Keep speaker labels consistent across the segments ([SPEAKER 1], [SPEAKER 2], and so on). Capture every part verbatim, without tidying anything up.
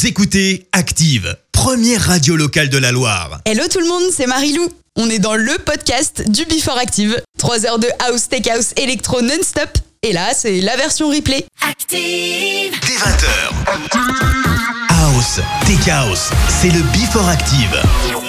[SPEAKER 1] Vous écoutez Active, première radio locale de la Loire.
[SPEAKER 2] Hello tout le monde, c'est Marie-Lou. On est dans le podcast du Before Active. trois heures de house, tech house, électro non-stop. Et là, c'est la version replay.
[SPEAKER 3] Active.
[SPEAKER 1] Dès vingt heures. House, tech house, c'est le Before Active.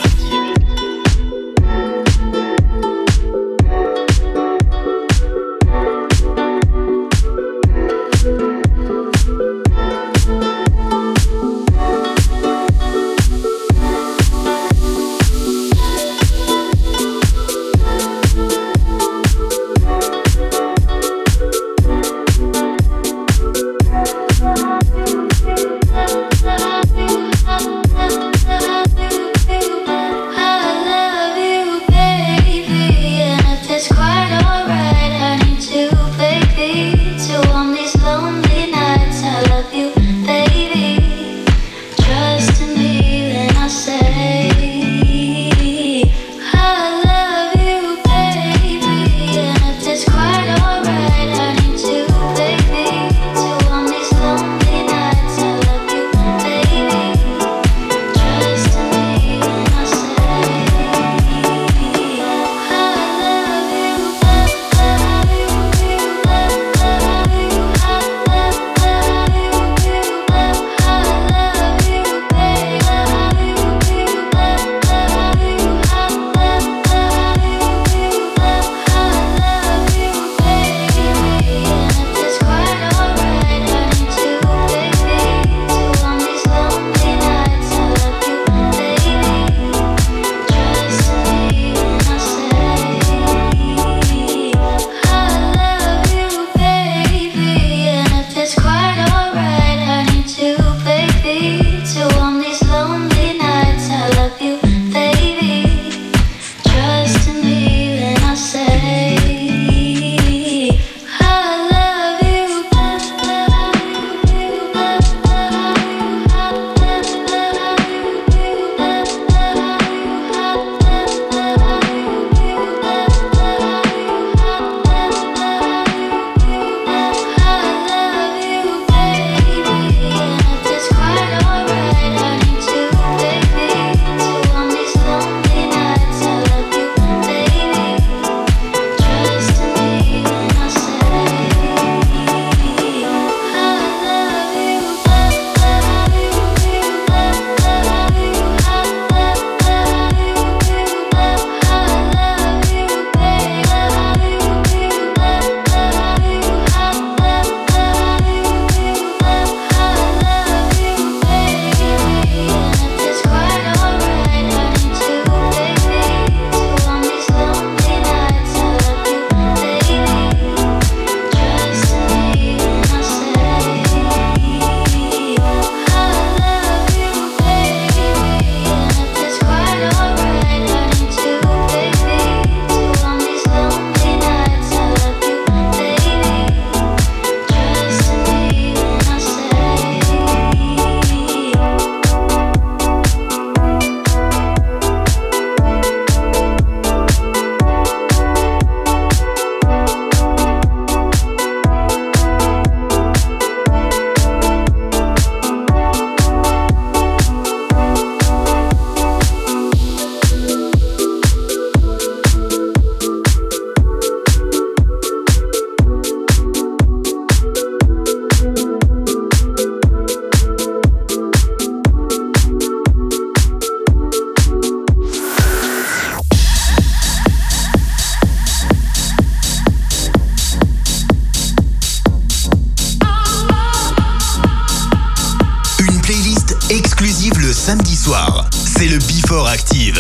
[SPEAKER 1] Samedi soir, c'est le Before Active.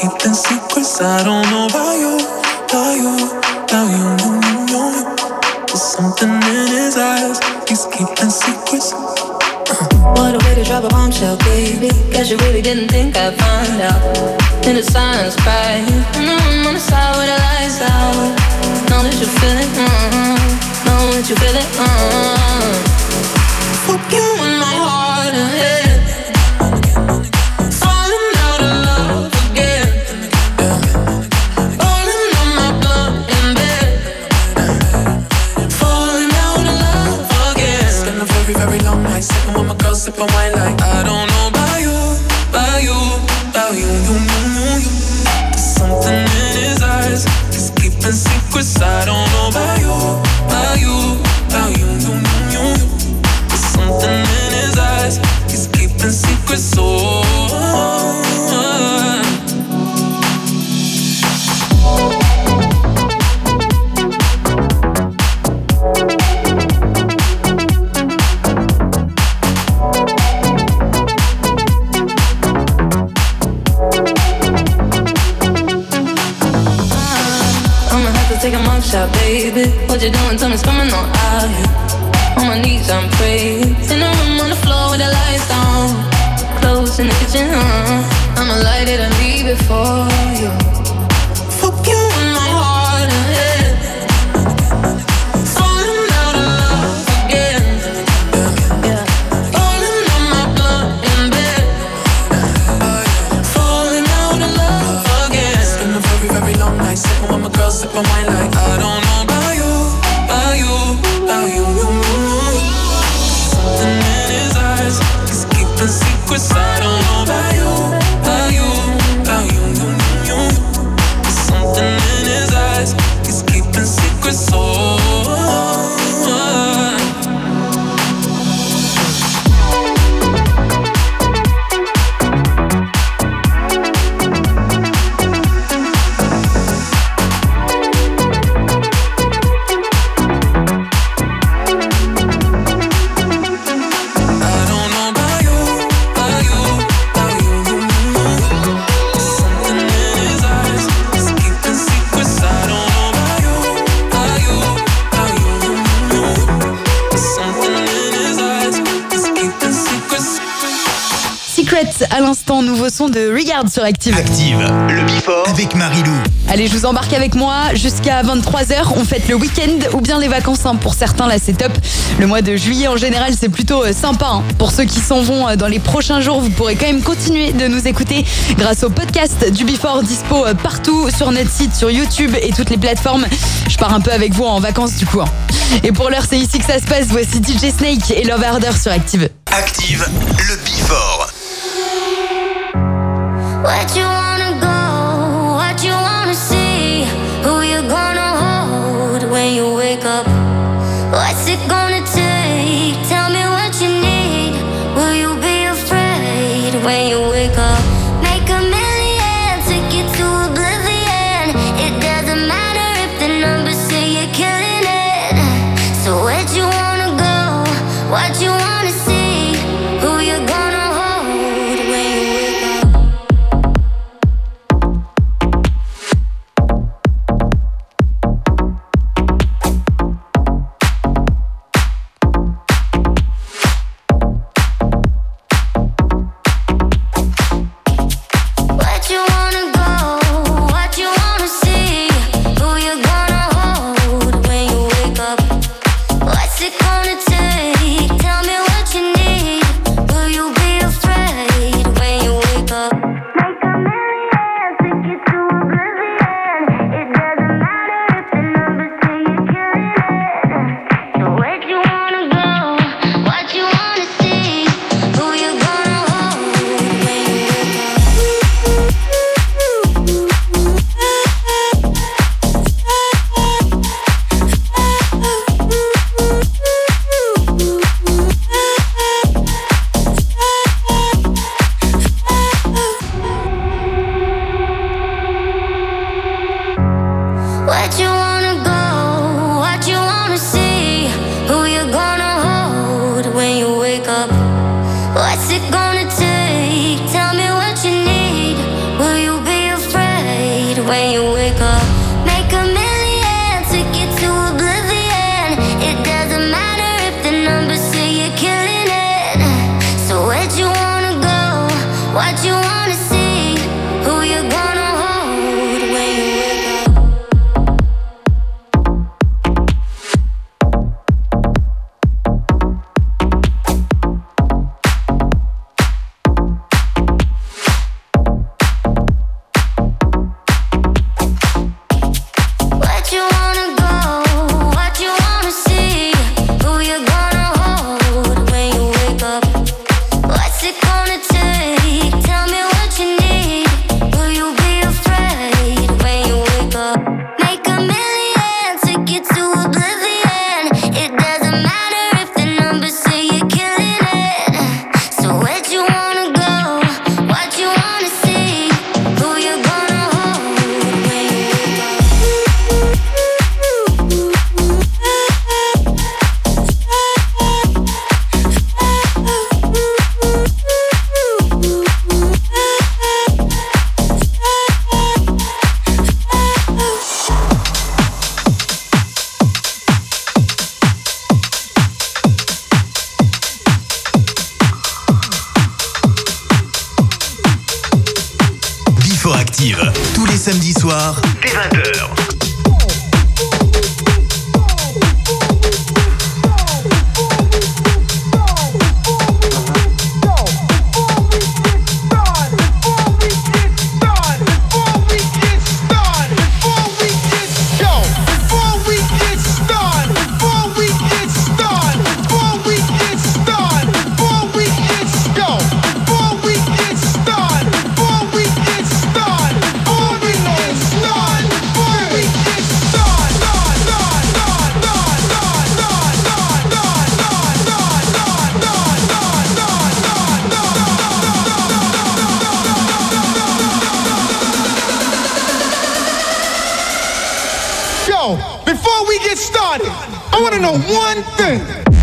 [SPEAKER 3] keeping secrets. I don't know about you, about you, about you, you, you, you. There's something in his eyes, he's keeping secrets.
[SPEAKER 4] What a way to drop a bombshell, baby. Guess you really didn't think I'd find out. In the silence, cry. Mm-hmm, on the side where the lights out. Know that you feel it, mm-hmm. Know that you feel it, mm-hmm. Fuck you in my heart and head. Falling out of love again. Rolling on my blunt in bed. Falling out of love again.
[SPEAKER 3] Spend a very, very long night sitting with my girl, sipping wine like I don't know about you, about you, about you, you, you, you, you. There's something in his eyes, he's keeping secrets. I don't know about you, about you, about you, you, you, you, you. There's something in his eyes, he's keeping secrets. So
[SPEAKER 4] take a mug shot, baby. What you doing? Tell me, coming on out here. On my knees, I'm praying. In the room on the floor with the lights down. Clothes in the kitchen, uh. I'ma light it and leave it for you. Fuck you in my heart and head. Falling out of love again. Yeah. Rolling on my blunt in bed. Falling out of love again.
[SPEAKER 3] It's been a very, very long night sitting with my girl, sipping wine like I don't know about you, about you, about you, you, you. Something in his eyes, he's keeping secrets. I don't know about you, about you, about you, you, you, you. There's something in his eyes, he's keeping secrets. Oh.
[SPEAKER 2] À l'instant, nouveau son de Regard sur Active.
[SPEAKER 1] Active, le Before avec Marilou.
[SPEAKER 2] Allez, je vous embarque avec moi jusqu'à vingt-trois heures. On fête le week-end ou bien les vacances. Hein. Pour certains, là, c'est top. Le mois de juillet, en général, c'est plutôt euh, sympa. Hein. Pour ceux qui s'en vont euh, dans les prochains jours, vous pourrez quand même continuer de nous écouter grâce au podcast du Before, dispo euh, partout sur notre site, sur YouTube et toutes les plateformes. Je pars un peu avec vous en vacances, du coup. Hein. Et pour l'heure, c'est ici que ça se passe. Voici D J Snake et Love Harder sur Active.
[SPEAKER 1] Active, le Before.
[SPEAKER 5] What you wanna go, what you wanna see, who you gonna hold when you wake up, what's it gonna take, tell me what you need, will you be afraid when you wake up, make a million, take you to oblivion, it doesn't matter if the numbers say you're killing it, so where'd you wanna go, what you wanna see, who you gonna hold when you wake up. when you wake up. Make a million, take it to oblivion. It doesn't matter if the numbers say you're killing it. So where'd you wanna go? What you wanna see? Who you gonna hold when you wake up? Where'd you wanna go? What you wanna see? Who you gonna hold when you wake up? What's it gonna take? Tell me what you need. Will you be afraid when you wake up? Make a million, take it to oblivion. It doesn't matter if the numbers say you're killing it. So where'd you wanna go? What you wanna see? Who you gonna hold when you wake up?
[SPEAKER 1] Before Active, tous les samedis soirs, dès vingt heures.
[SPEAKER 6] Yo, before we get started, I want to know one thing.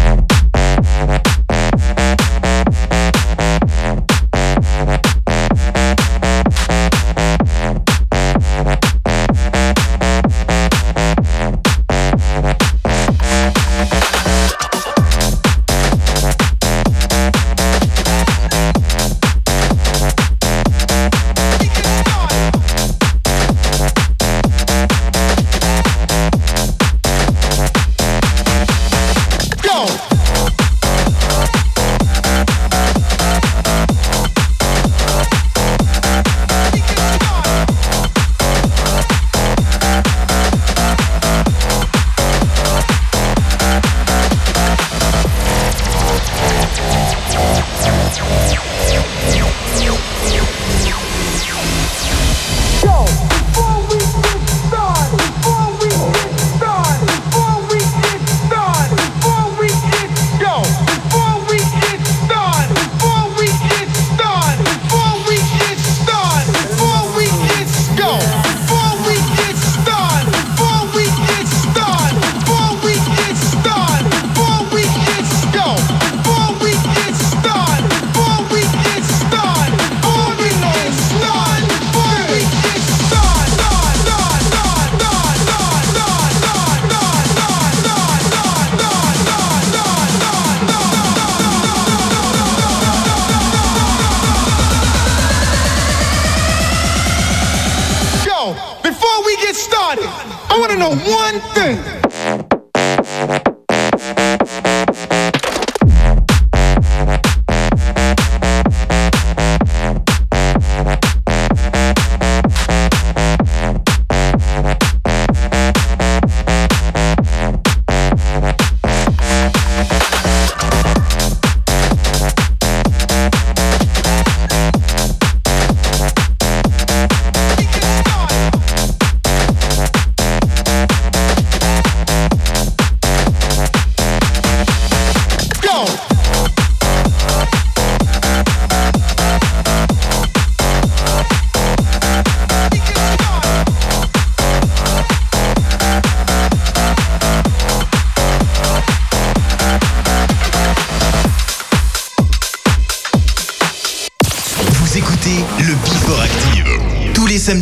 [SPEAKER 6] Before we get started, I want to know one thing.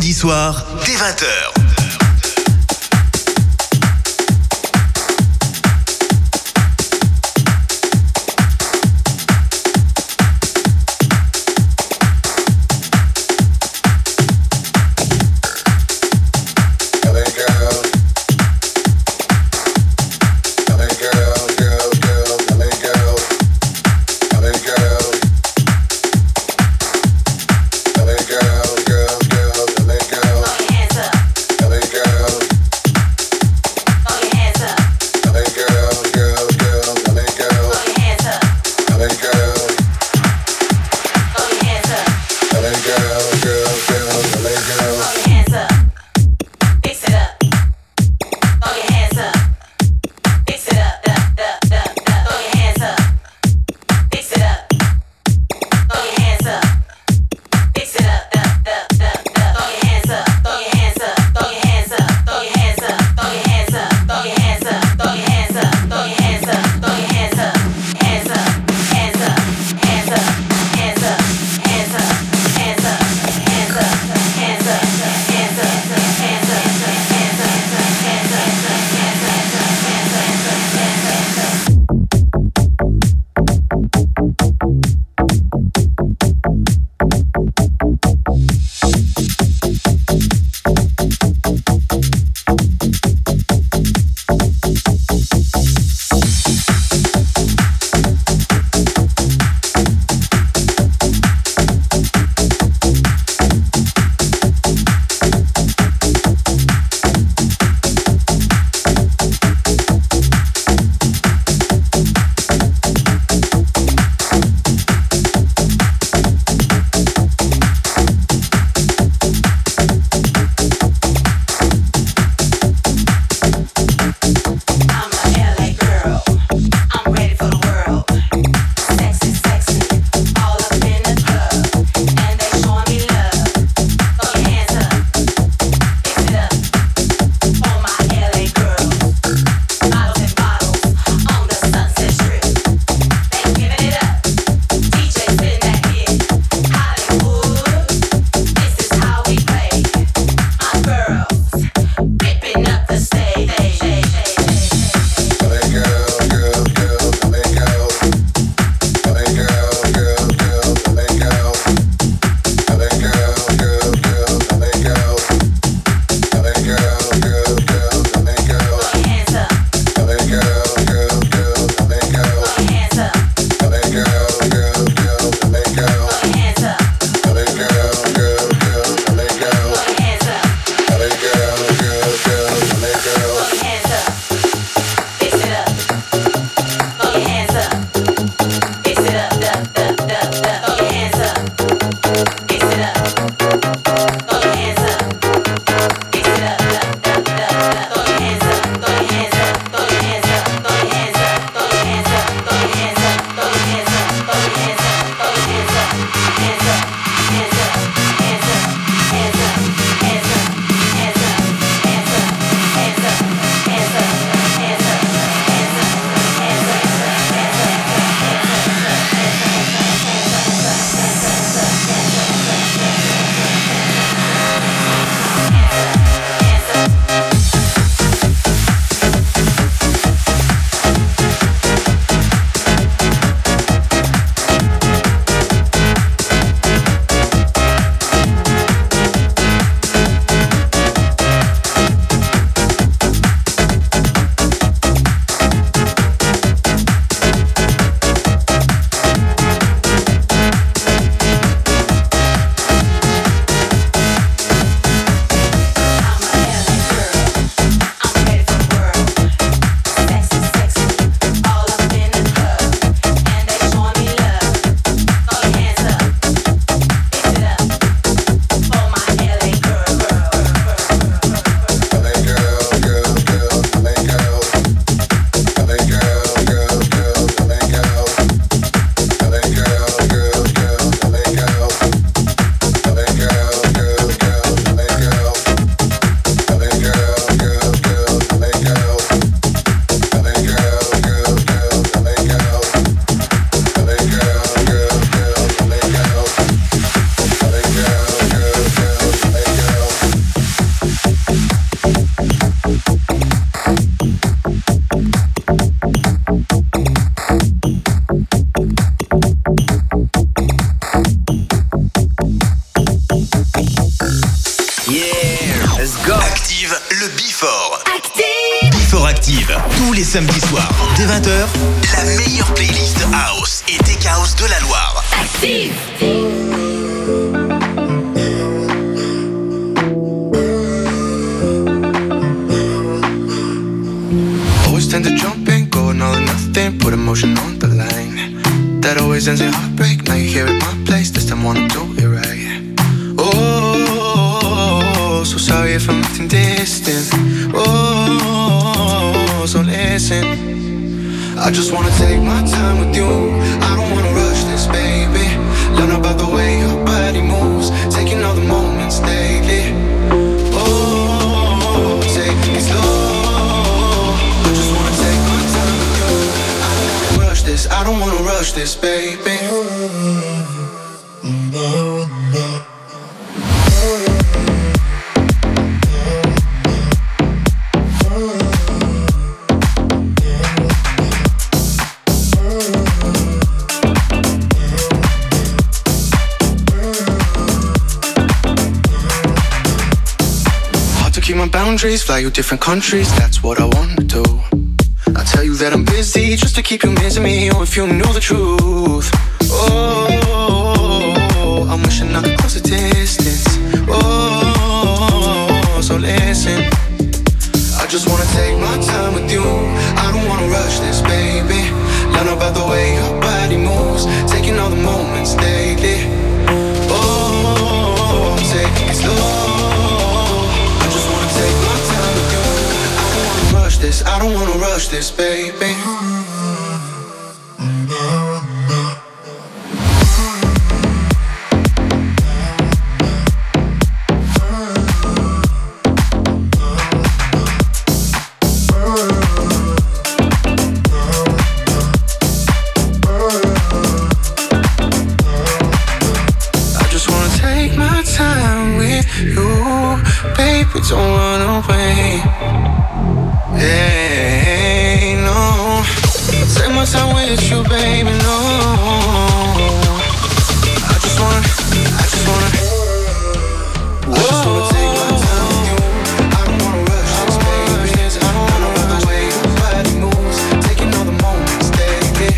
[SPEAKER 1] samedis soirs, dès vingt heures.
[SPEAKER 7] Hands up.
[SPEAKER 1] Let's go. Active le Before. Active. Before Active. Tous les samedis soirs, dès vingt heures, la meilleure playlist house et tech house de la Loire. Active.
[SPEAKER 7] Always tend to jump in, going all or nothing, put emotion on the line. That always ends in heartbreak. Now you're here at my place, this time wanna do it right. Oh, so sorry if I'm acting distant. Oh, so listen. I just wanna take my time with you. I don't wanna rush this, baby. Learn about the way your body moves, taking all the moments daily. Oh, take it slow. I just wanna take my time with you. I don't wanna rush this, I don't wanna rush this, baby. Boundaries, fly you different countries, that's what I wanna do. I tell you that I'm busy just to keep you missing me. Oh, if you knew the truth. Oh, I'm wishing I could close the distance. Oh, so listen. I just wanna take my time with you. I don't wanna rush this, baby. Learn about the way your body moves, taking all the moments daily. Oh, take it slow. I don't wanna rush this, baby. I just wanna take my time with you, baby, don't run away. Hey, no. Take my time with you, baby, no. I just wanna, I just wanna, I just wanna take my time with you. I don't wanna rush this, baby. I don't wanna run the way your body moves, taking all the moments daily.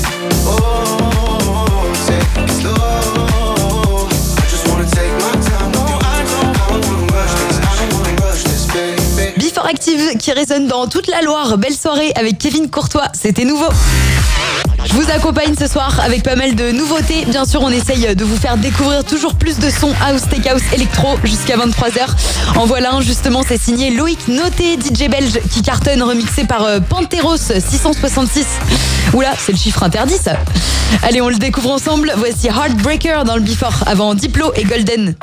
[SPEAKER 7] Oh, take it slow. I just wanna take my time with you. I don't, I don't wanna rush this, I don't wanna rush this, baby.
[SPEAKER 2] Before Active qui résonne dans toute la Loire. Belle soirée avec Kevin Courtois, c'était nouveau. Je vous accompagne ce soir avec pas mal de nouveautés. Bien sûr, on essaye de vous faire découvrir toujours plus de sons house, tech house, électro jusqu'à vingt-trois heures. En voilà un, justement, c'est signé Loïc Noté, D J belge qui cartonne, remixé par Panteros six cent soixante-six. Oula, c'est le chiffre interdit ça. Allez, on le découvre ensemble. Voici Heartbreaker dans le Before avant Diplo et Golden.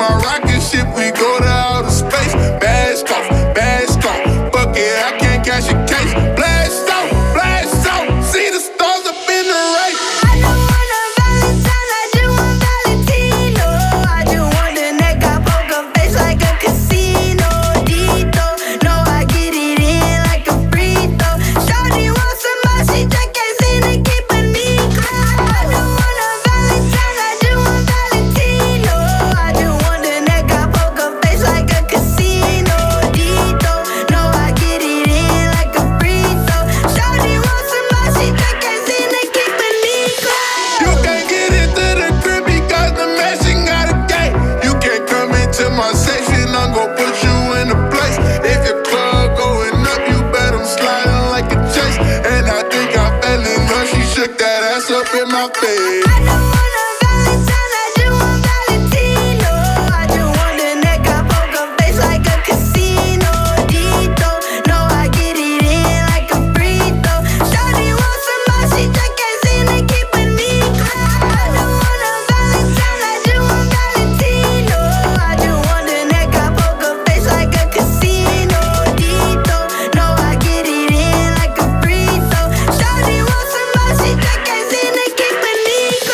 [SPEAKER 8] our rocket ship, we go to outer space. Blast off, blast off, fuck it, I can't catch a case. Blast off, blast off, see the stars up in the race.
[SPEAKER 5] I don't want a Valentine, I just want Valentino. I just want the neck, I poker face like a casino. Dito, no, I get it in like a free throw. Shawty want somebody, she just can't seem to keep a Nico. I don't want a Valentine, I just want Valentino. I just want the neck, I poker face like a casino. Dito, no, I get it in like a free throw. Shawty want somebody, she just can't seem to keep a Nico.
[SPEAKER 8] You can't get into the crib because the machine got a gate. You can't come into my section, I'm gon' put you in a place. If your club going up, you bet I'm sliding like a chase. And I think I fell in love, she shook that ass up in my face.
[SPEAKER 5] I don't want a Valentine, I just want Valentino. I just want the neck, I poker face like a casino. Dito, no, I get it in like a free throw. Shawty want somebody, she just can't seem to keep a Nico. I don't want a Valentine, I just want Valentino. I just want the neck, I poker face like a casino. Dito, no, I get it in like a free throw. Shawty want somebody, she just can't seem to keep a Nico.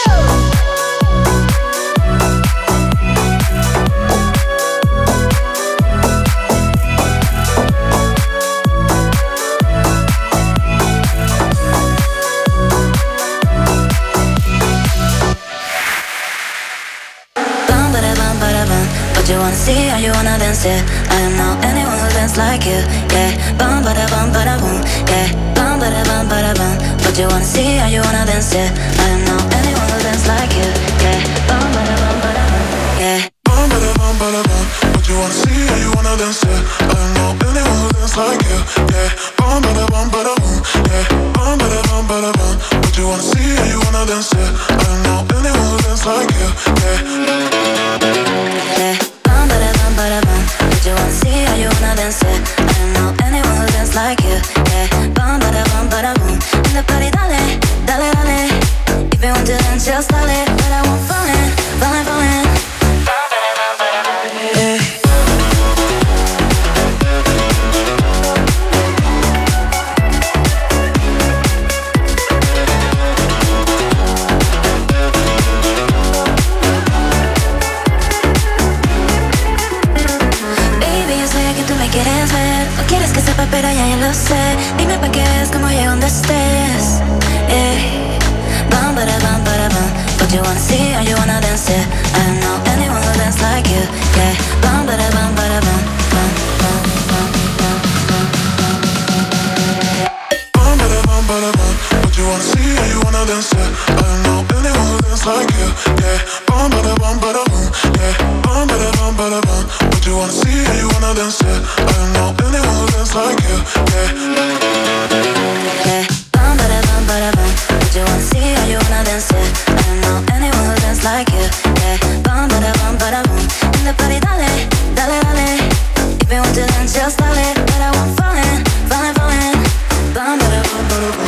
[SPEAKER 4] Bum ba da bum ba da bum. What you wanna see? How you wanna dance it? I don't know anyone who dance like you. Yeah. Bum ba da bum ba da boom. Yeah. Bum ba da bum ba da bum. What you wanna see? How you wanna dance it? I don't know anyone who dance like you. Yeah. Bum ba da bum ba da bum. Yeah.
[SPEAKER 8] Bum ba da bum ba da bum. What you wanna see? How you wanna dance it? I don't know anyone who dance like you. Yeah. Bum ba da bum ba da boom. Yeah. Bum ba da bum ba da bum. What you wanna see? How you wanna dance it? I don't know anyone who dance like you. Yeah.
[SPEAKER 4] Yeah. Bum ba da bum ba da bum. What you wanna see? How you wanna dance it? I don't know anyone who dance like you. Yeah. Bum ba da bum ba da boom. In the party, dale, dale, dale. If you want to dance, just dale. But I won't fall in, fall in, fall in. Yeah. Baby, yo sé que tú me quieres ver. No quieres que sepa, pero ya yo lo sé. Dime pa' que veas cómo llego donde estés. Eh. Bum, ba da bum, ba da bum. What you wanna see? How you wanna dance it? I don't know anyone who dance like you. Yeah. Bum, ba da bum, ba da bum. Bum, bum, bum, bum, bum, bum.
[SPEAKER 8] Bum ba da bum ba da bum. What you wanna see? How you wanna dance it? I don't know anyone who dance like you. Yeah. Bum ba da bum ba da boom. Yeah. Bum ba da bum ba da bum. What you wanna see? How you wanna dance it? I don't know anyone who dance like you. Yeah.
[SPEAKER 4] Yeah. Bum, ba da bum, ba da bum. What you wanna see? How you wanna dance it? I don't know anyone who dance like you. Yeah. Bum, ba da bum, ba da boom. In the party, dale, dale, dale. If you want to dance, just dale. But I won't fall in, fall in, fall in. Bum, ba da bum, ba da boom.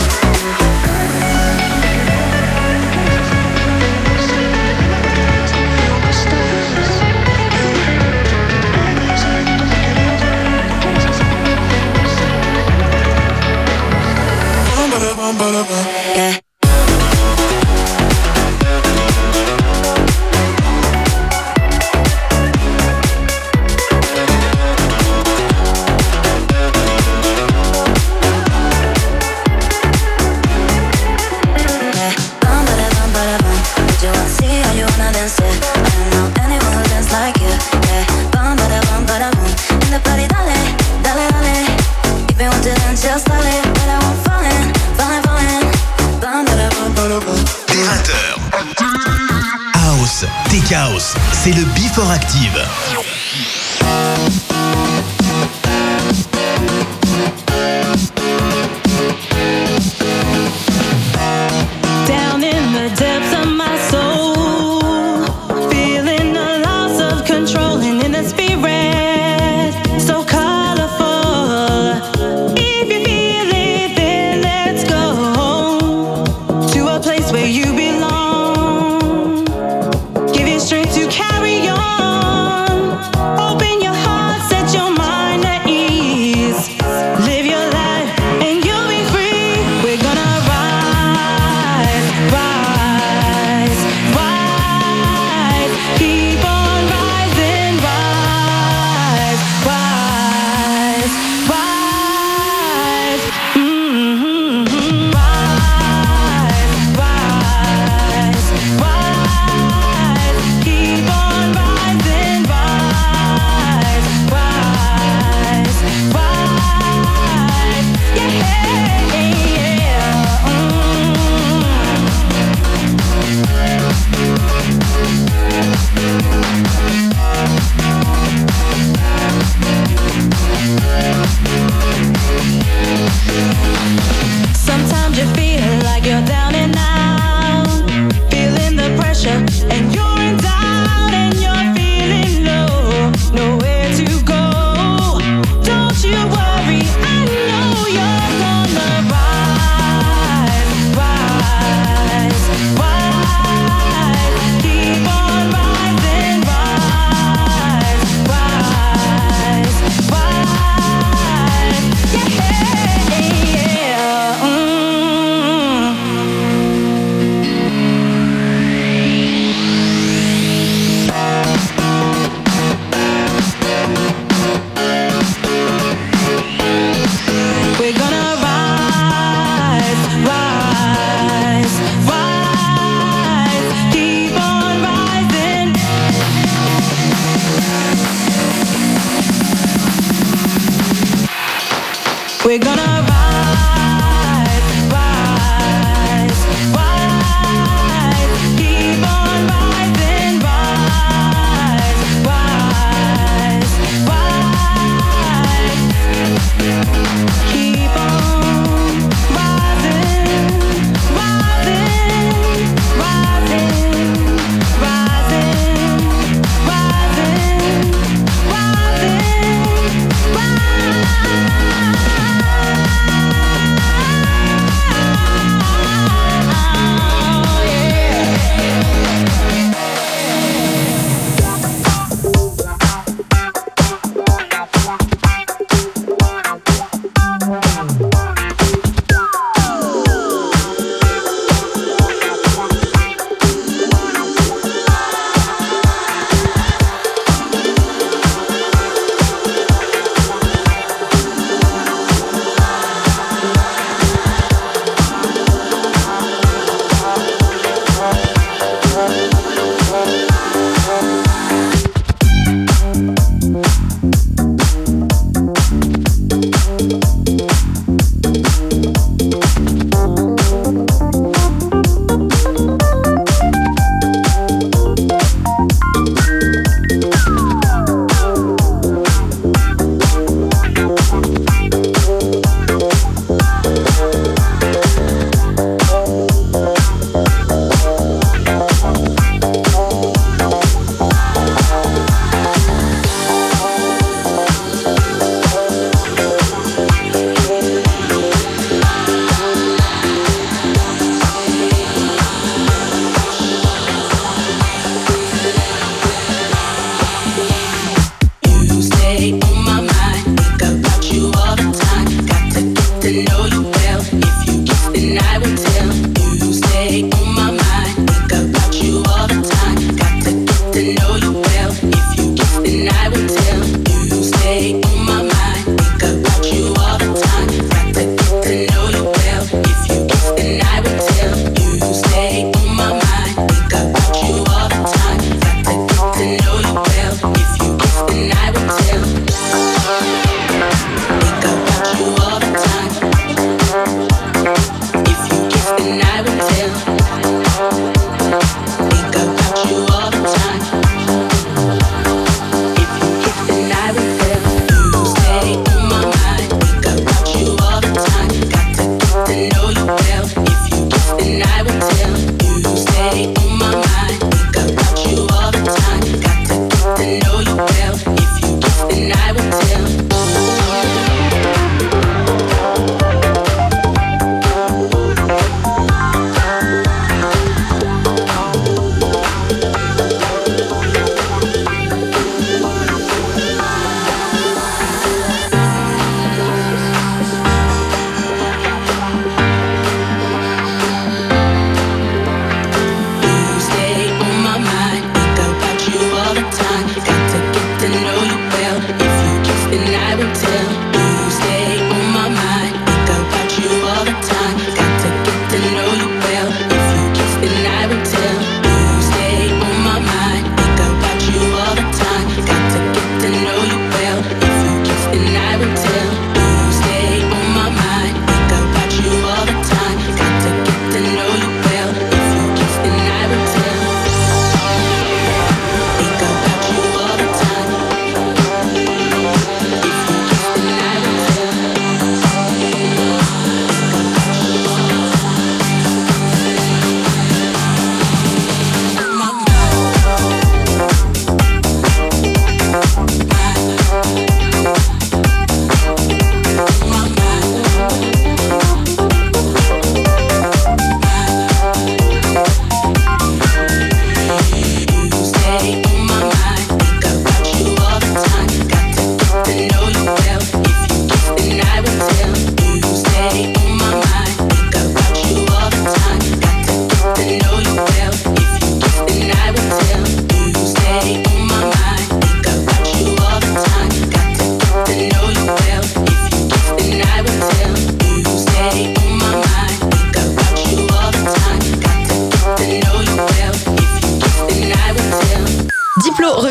[SPEAKER 8] Bum ba da bum ba da bum.
[SPEAKER 4] Yeah. Just dale, but I won't fall in, fall in, fall in. Bum, ba da bum, ba da bum.
[SPEAKER 1] Dès vingt heures. House, Tech House, c'est le Before Active.
[SPEAKER 9] Down in the depths of my soul, feeling the loss of control and in the spirit, so colorful. If you feel it, then let's go to a place where you belong. Give you strength to carry on.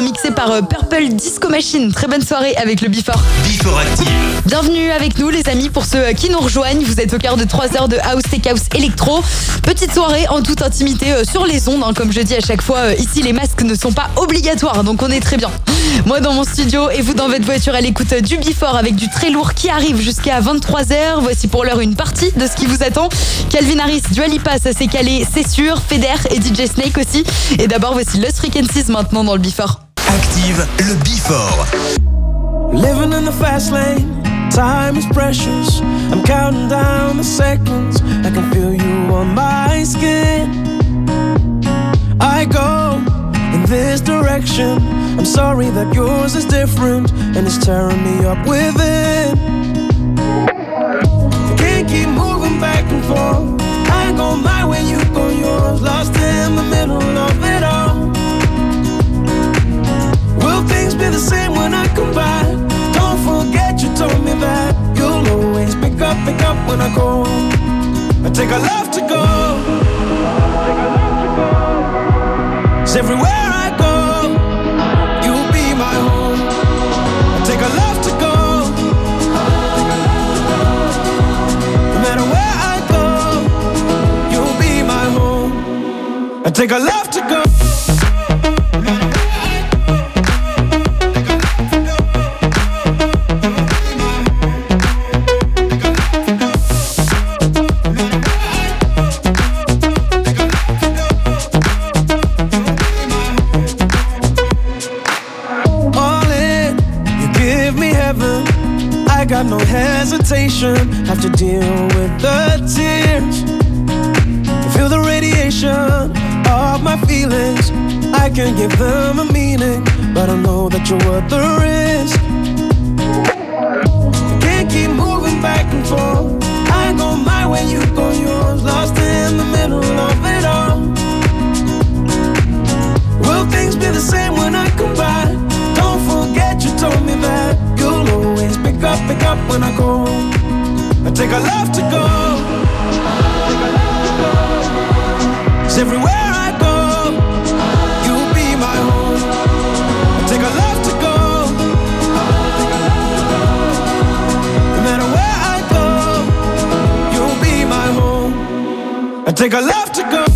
[SPEAKER 2] mixé par euh, Purple Disco Machine. Très bonne soirée avec le Before.
[SPEAKER 1] Before Active.
[SPEAKER 2] Bienvenue avec nous les amis pour ceux qui nous rejoignent. Vous êtes au cœur de trois heures de House Tech House Electro. Petite soirée en toute intimité euh, sur les ondes. Hein, comme je dis à chaque fois, euh, ici les masques ne sont pas obligatoires, donc on est très bien. Moi dans mon studio et vous dans votre voiture à l'écoute du Before avec du très lourd qui arrive jusqu'à vingt-trois heures. Voici pour l'heure une partie de ce qui vous attend. Calvin Harris, Dua Lipa, ça s'est calé, c'est sûr. Feder et D J Snake aussi. Et d'abord voici Lost Frequencies maintenant dans le Before.
[SPEAKER 1] Active le Before.
[SPEAKER 10] Living in the fast lane, time is precious. I'm counting down the seconds. I can feel you on my skin. I go in this direction. I'm sorry that yours is different and it's tearing me up within. I can't keep moving back and forth. I go my way, you go yours. Lost in the middle of it all. Will things be the same when I come back? Don't forget you told me that you'll always pick up, pick up when I go. I take a love to go. It's everywhere I go, you'll be my home. I take a love to go. No matter where I go, you'll be my home. I take a love to go. Got no hesitation, have to deal with the tears. Feel the radiation of my feelings. I can give them a meaning, but I know that you're worth the risk. I can't keep moving back and forth. I go my way, you go yours. Lost in the middle of it all. Will things be the same when I come back? Don't forget you told me that you'll always pick up, pick up when I go. I take a love to go. It's everywhere I go, you'll be my home. I take a love to go. No matter where I go, you'll be my home. I take a love to go.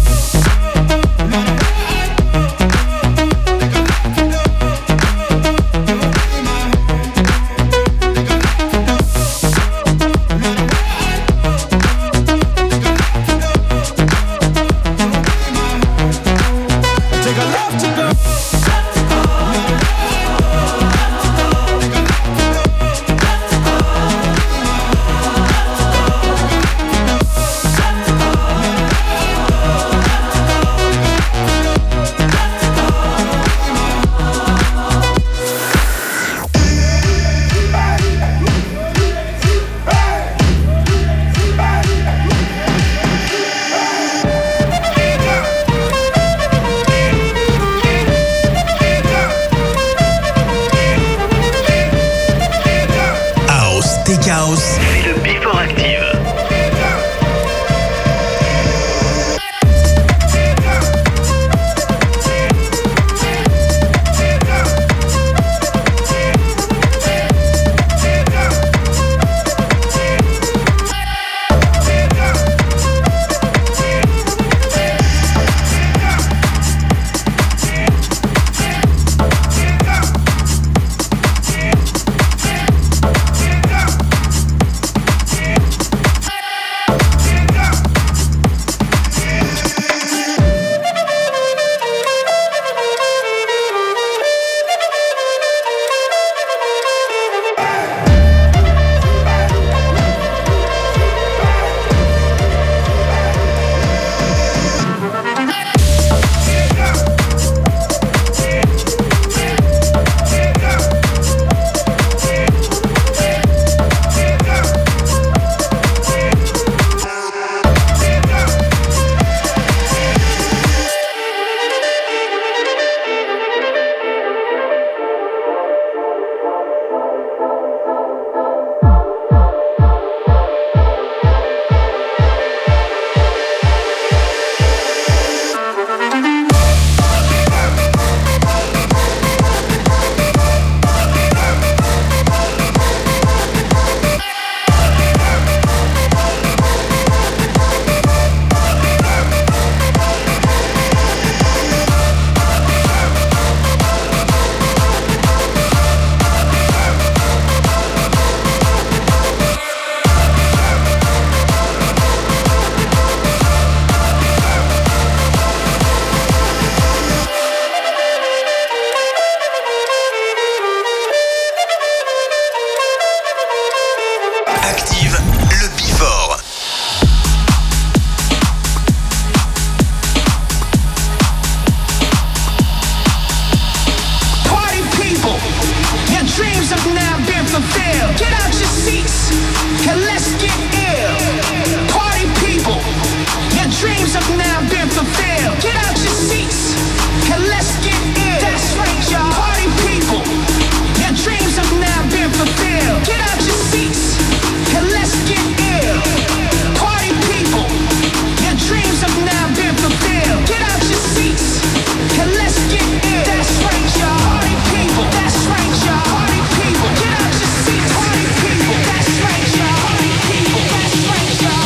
[SPEAKER 6] dreams have now been fulfilled. Get out your seats and let's get ill. Party people, your dreams have now been fulfilled. Get out your seats and let's get ill. That's right, y'all. Party people, your dreams have now been fulfilled. Get out your seats and let's get ill. Party people, your dreams have now been fulfilled. Get out your seats and let's get ill. That's right, y'all. Party people, that's right, y'all. Party people, get out your seats. Party people, that's right, y'all. Party people, that's right, y'all.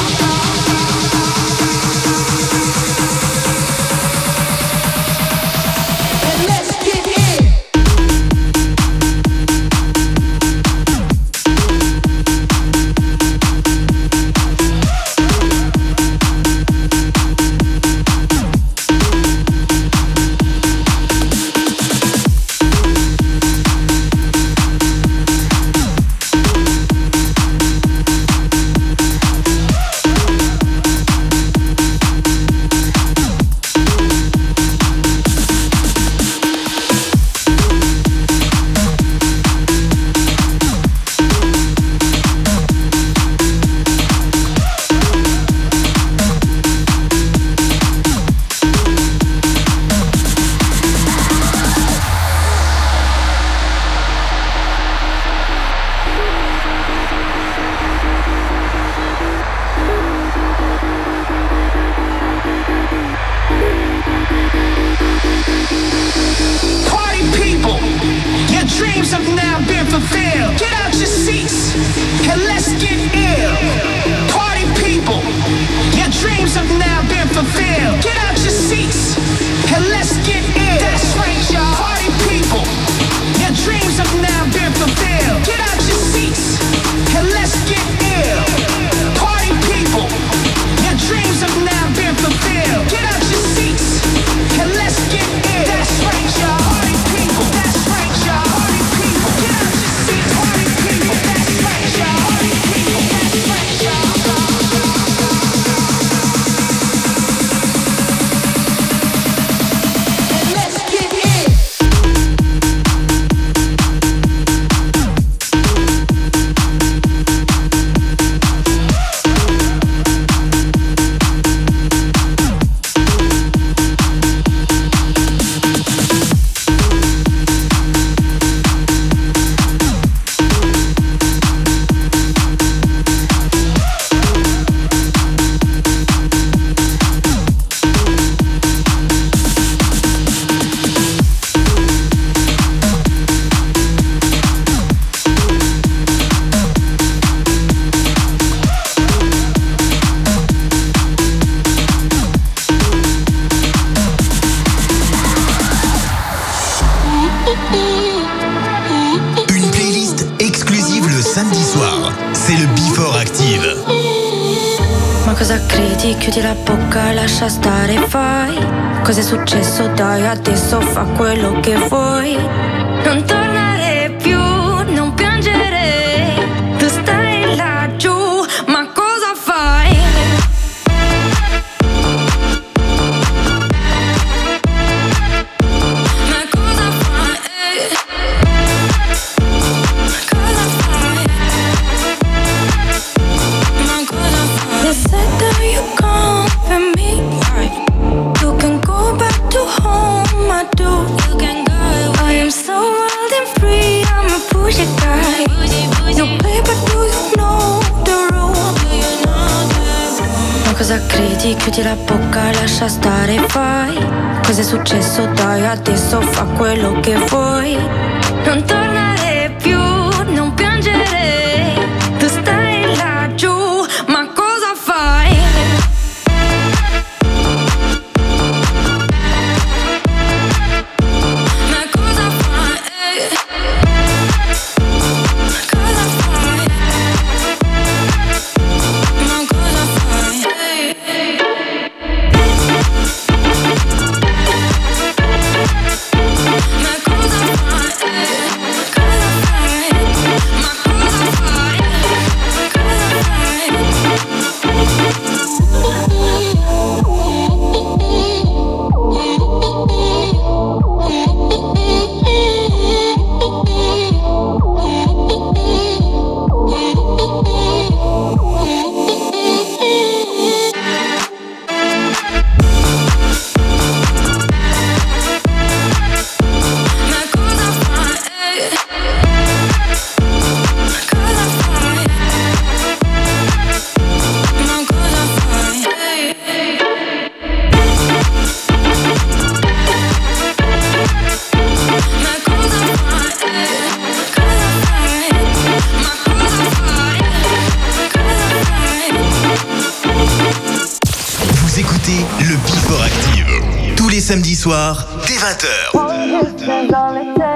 [SPEAKER 6] And let's get in. Party people, your dreams have now been fulfilled. Get out your seats and let's get ill. Party people, your dreams have now been fulfilled. Get out your seats and let's get ill. That's right, y'all. Party people, your dreams have now been fulfilled. Get out your seats and let's get ill. Party people, your dreams have now been fulfilled. Get out your seats and let's get ill. That's right, y'all. Party people, that's right, y'all. Party people, get out your seats. Party people, that's right, y'all. Party people, that's right, y'all. And let's get in.
[SPEAKER 1] Une playlist exclusive le samedi soir. C'est le Before Active.
[SPEAKER 11] Ma cosa credi? Chiudi la bocca, lascia stare, fai. Cos'è successo? Dai, adesso fa quello che vuoi. Non tornare più, non piangere. Tu stai laggiù, ma cosa fai? Ma cosa fai? Cosa fai? Ma cosa fai? You said that you come for me. You can go back to home, I do. You can go. I am so wild and free, I'm a pushy guy. No play, but do you know the rule? Ma cosa credi? Chiudi la bocca, lascia stare, fai. Cos'è successo? Dai, adesso fa quello che vuoi. Non tornare più, non piangere. Tu stai laggiù, ma cosa fai? Ma cosa fai? Cosa fai? Ma cosa fai? Ma cosa fai?
[SPEAKER 1] samedis soirs, dès vingt heures.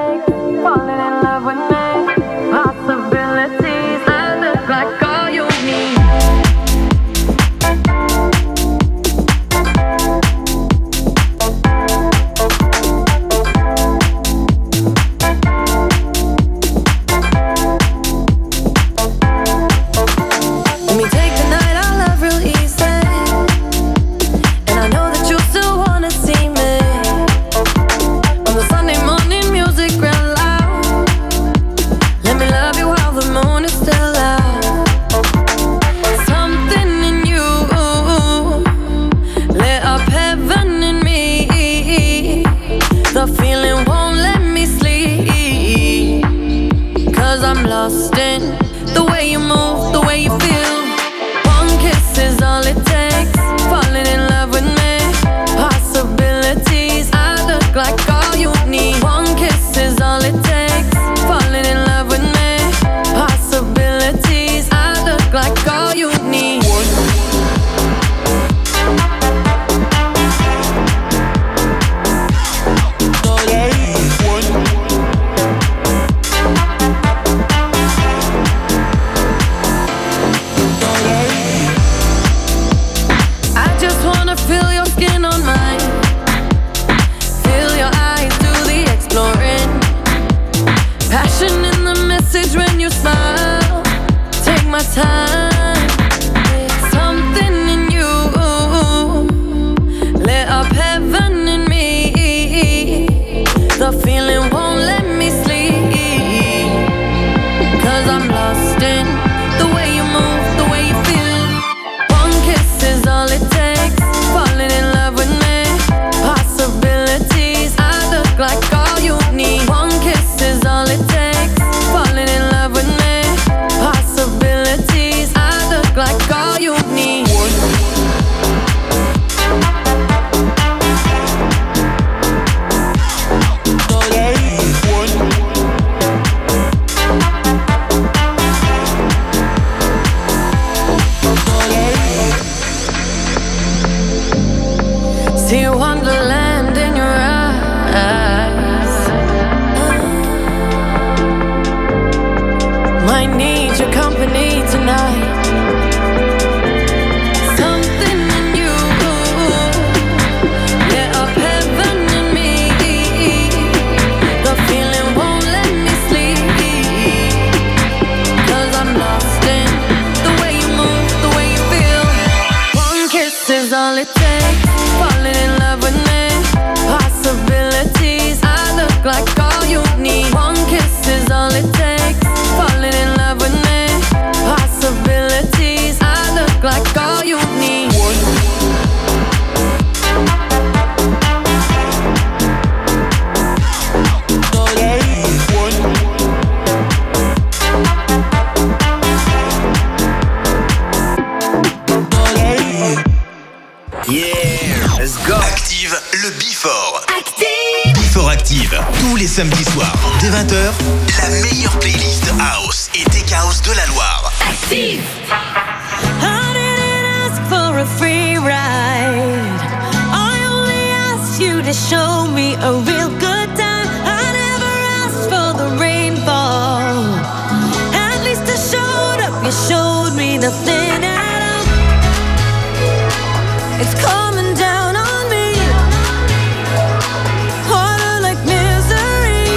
[SPEAKER 1] Samedi soir, dès vingt heures, la meilleure playlist House et Tech House de la Loire. Active!
[SPEAKER 9] I didn't ask for a free ride. I only asked you to show me a real good time. I never asked for the rainfall. At least I showed up, you showed me nothing at all. It's coming down on me. Harder like misery.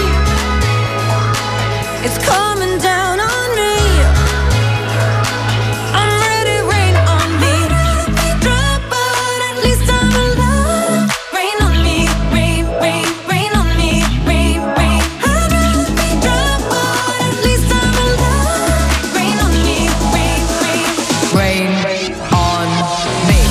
[SPEAKER 9] It's coming down on me. I'm ready, rain on me. Drop, but at least I'm alive. Rain on me, rain, rain, rain on me, rain, rain. I'd rather be drop, but at least I'm alive. Rain on me, rain, rain, rain on me.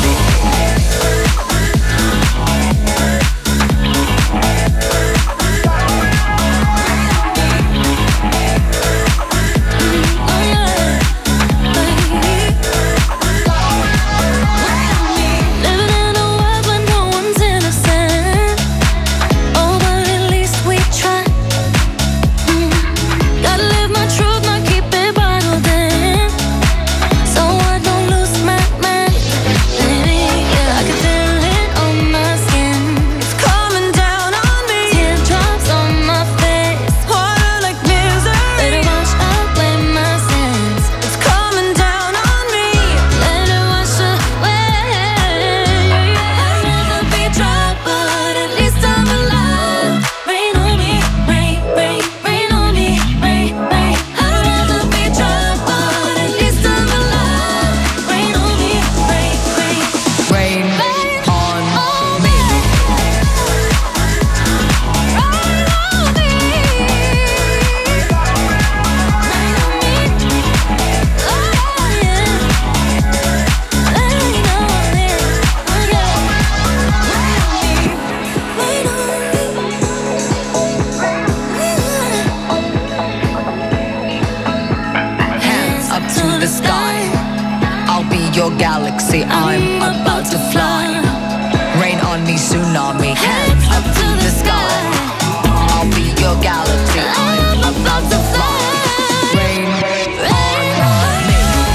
[SPEAKER 12] galaxy. I'm about to fly. Rain on me, tsunami, hands up to the sky. I'll be your galaxy. I'm about to fly. Rain on me.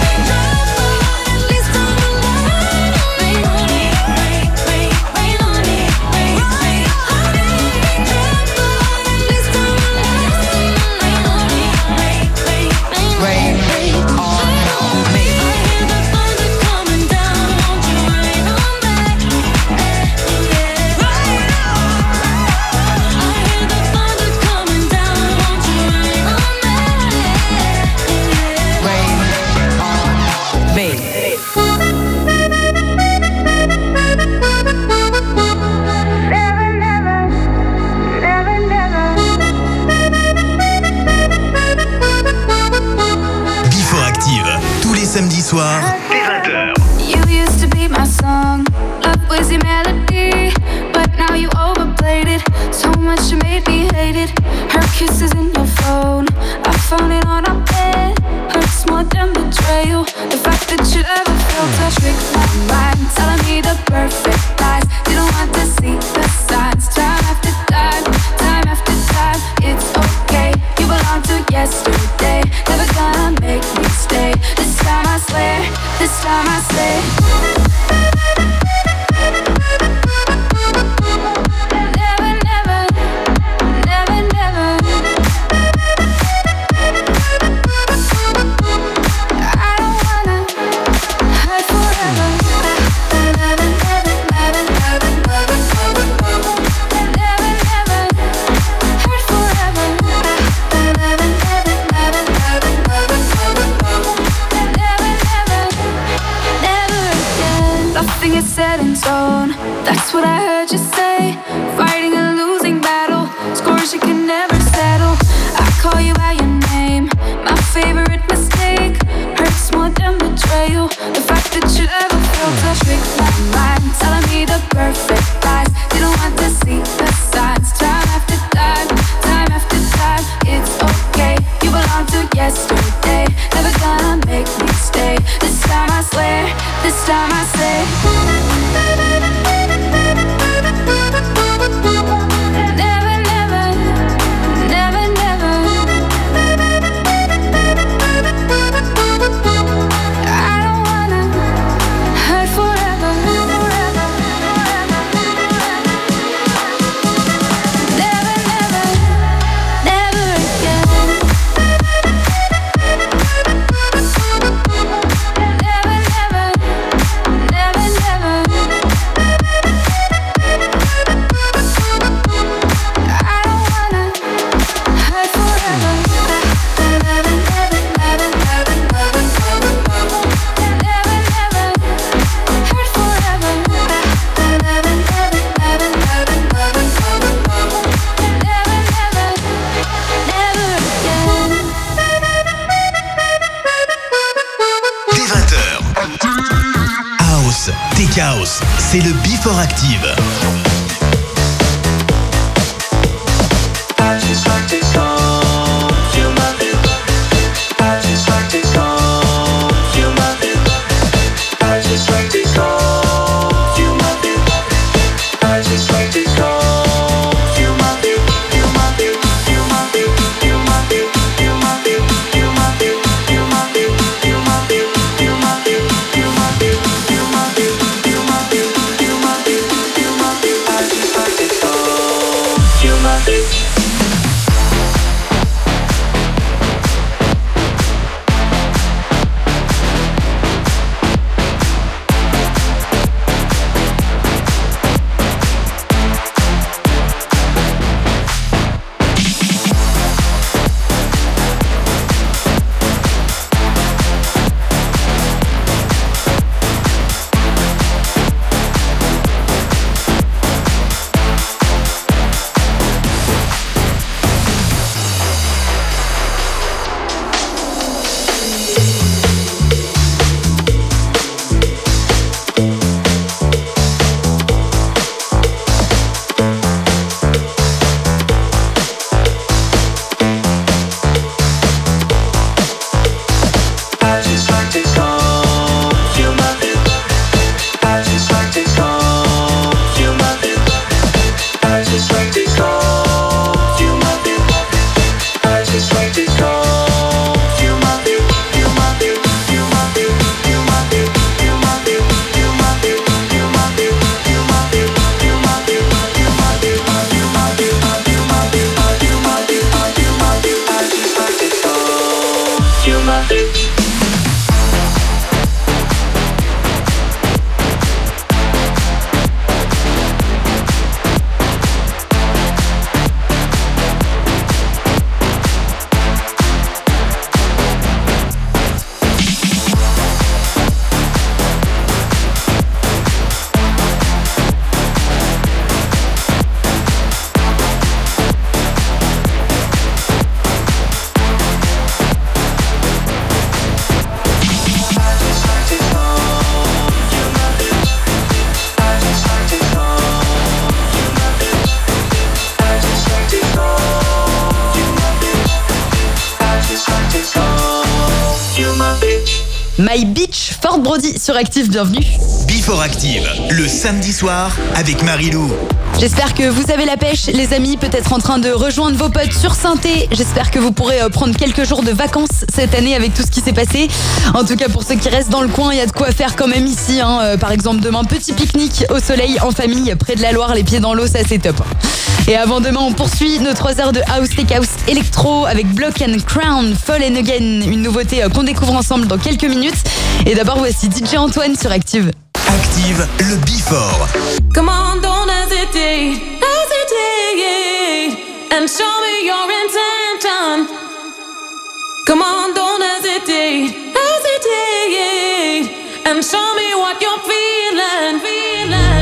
[SPEAKER 1] Samedi soir, dès vingt heures.
[SPEAKER 11] You used to be my song, love was your melody, but now you overplayed it, so much you made me hate it. Her kisses in your phone, I found it on our bed, hurts more than betrayal. The fact that you ever felt a trick my mind, telling me the perfect lies, didn't want to see the signs. Time after time, time after time, it's okay, you belong to yesterday, never gonna make me stay. This time I swear, this time I say never, never, never, never. I don't wanna hurt forever. Never, never, never, never, never, never, never, never, never hurt forever. Never, never, never, never, never, never, never, never again. Nothing is set in stone. That's what I heard you say. Fighting a losing battle, scores you can never settle. I call you by your name, my favorite mistake. Hurts more than betrayal. The fact that you ever felt a trick my mind, telling me the perfect lies, didn't want to see the signs. Time after time, time after time, it's okay, you belong to yesterday, never gonna make me stay. This time I swear, this time I say never, never, never, never. I don't wanna hurt forever. Never, never, never again. Never, never, never, never. I don't wanna hurt forever. Never, never, never, never, never, never, never. Never, never hurt forever. Never, never, never, never, never, never, never. Never, never, never again.
[SPEAKER 1] Dès vingt heures. House, Tech House, c'est le Before Active.
[SPEAKER 7] I just like to come, feel my view. I just like to come, feel my view. I just like to come, feel my view. I just like to come, feel my view, feel my view, feel my view, feel my view, feel my view, feel my view, feel my view, feel my view, feel my view, feel my view, feel my view, feel my view, feel my view, feel my view.
[SPEAKER 2] My Beach, Fort Brody sur Active, bienvenue.
[SPEAKER 1] Before Active, le samedi soir avec Marilou.
[SPEAKER 2] J'espère que vous avez la pêche, les amis, peut-être en train de rejoindre vos potes sur Saint-Thé. J'espère que vous pourrez prendre quelques jours de vacances cette année avec tout ce qui s'est passé. En tout cas, pour ceux qui restent dans le coin, il y a de quoi faire quand même ici. Hein. Par exemple, demain, petit pique-nique au soleil en famille, près de la Loire, les pieds dans l'eau, ça c'est top. Et avant demain, on poursuit nos trois heures de House Tech House Electro avec Block and Crown, Fallen Again, une nouveauté qu'on découvre ensemble dans quelques minutes. Et d'abord, voici D J Antoine sur Active.
[SPEAKER 1] Active, le Before.
[SPEAKER 9] Come on, don't hesitate, hesitate, and show me your intention. Come on, don't hesitate, hesitate, and show me what you're feeling, feeling.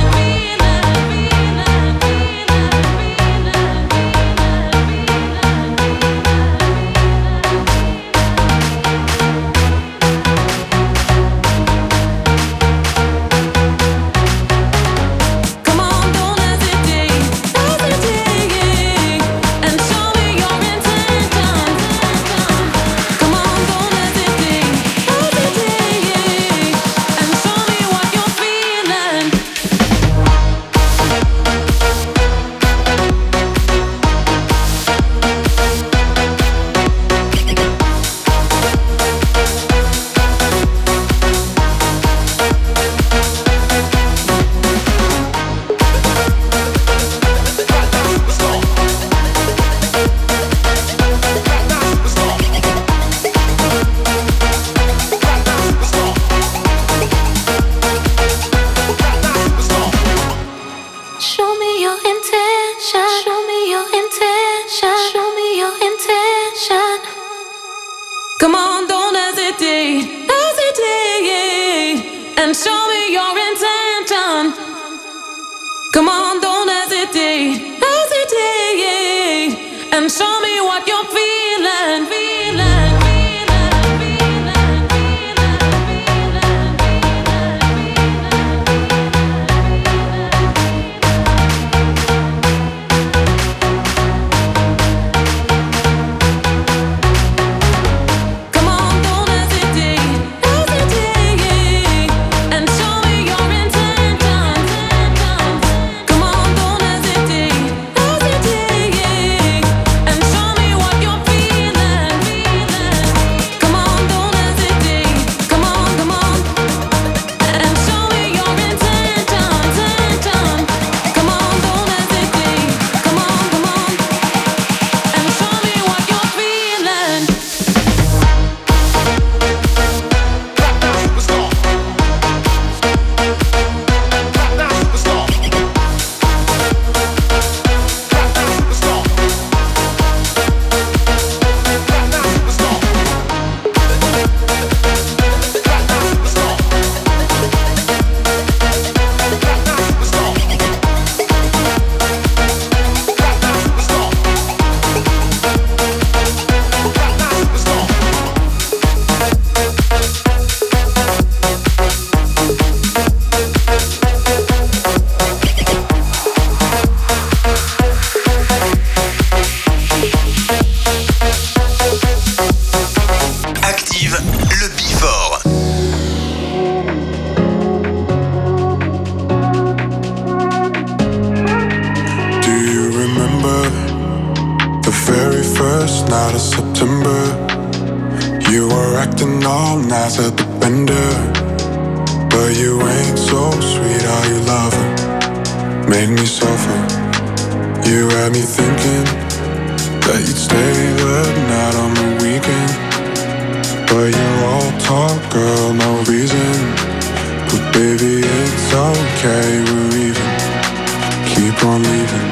[SPEAKER 8] okay, we're even. Keep on leaving.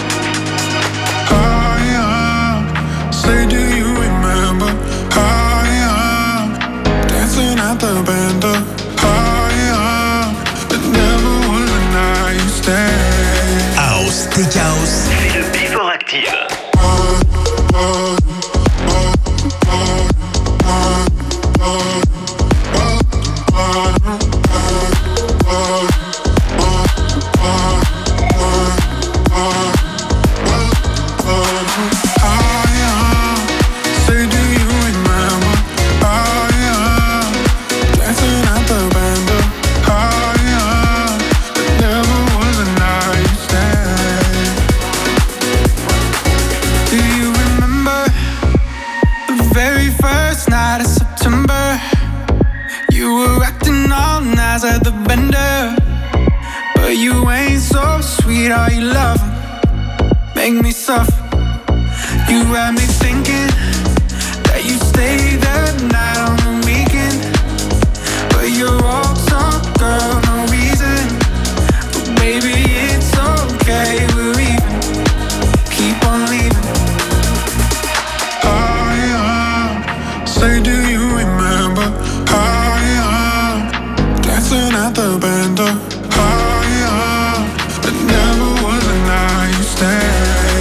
[SPEAKER 8] I am. Say, do you remember? I am dancing at the bando. I am. It never was a nice day.
[SPEAKER 1] House, Tech House.
[SPEAKER 13] C'est le Before Active.
[SPEAKER 10] At the bender, but you ain't so sweet. All you love make me suffer. You had me thinking that you stay the night on the weekend, but you're all talk, girl, no reason. But baby, it's okay, we're even. Keep on leaving.
[SPEAKER 8] I am. Say, do you remember? I am dancing at the bando. I am. It never was a nice day.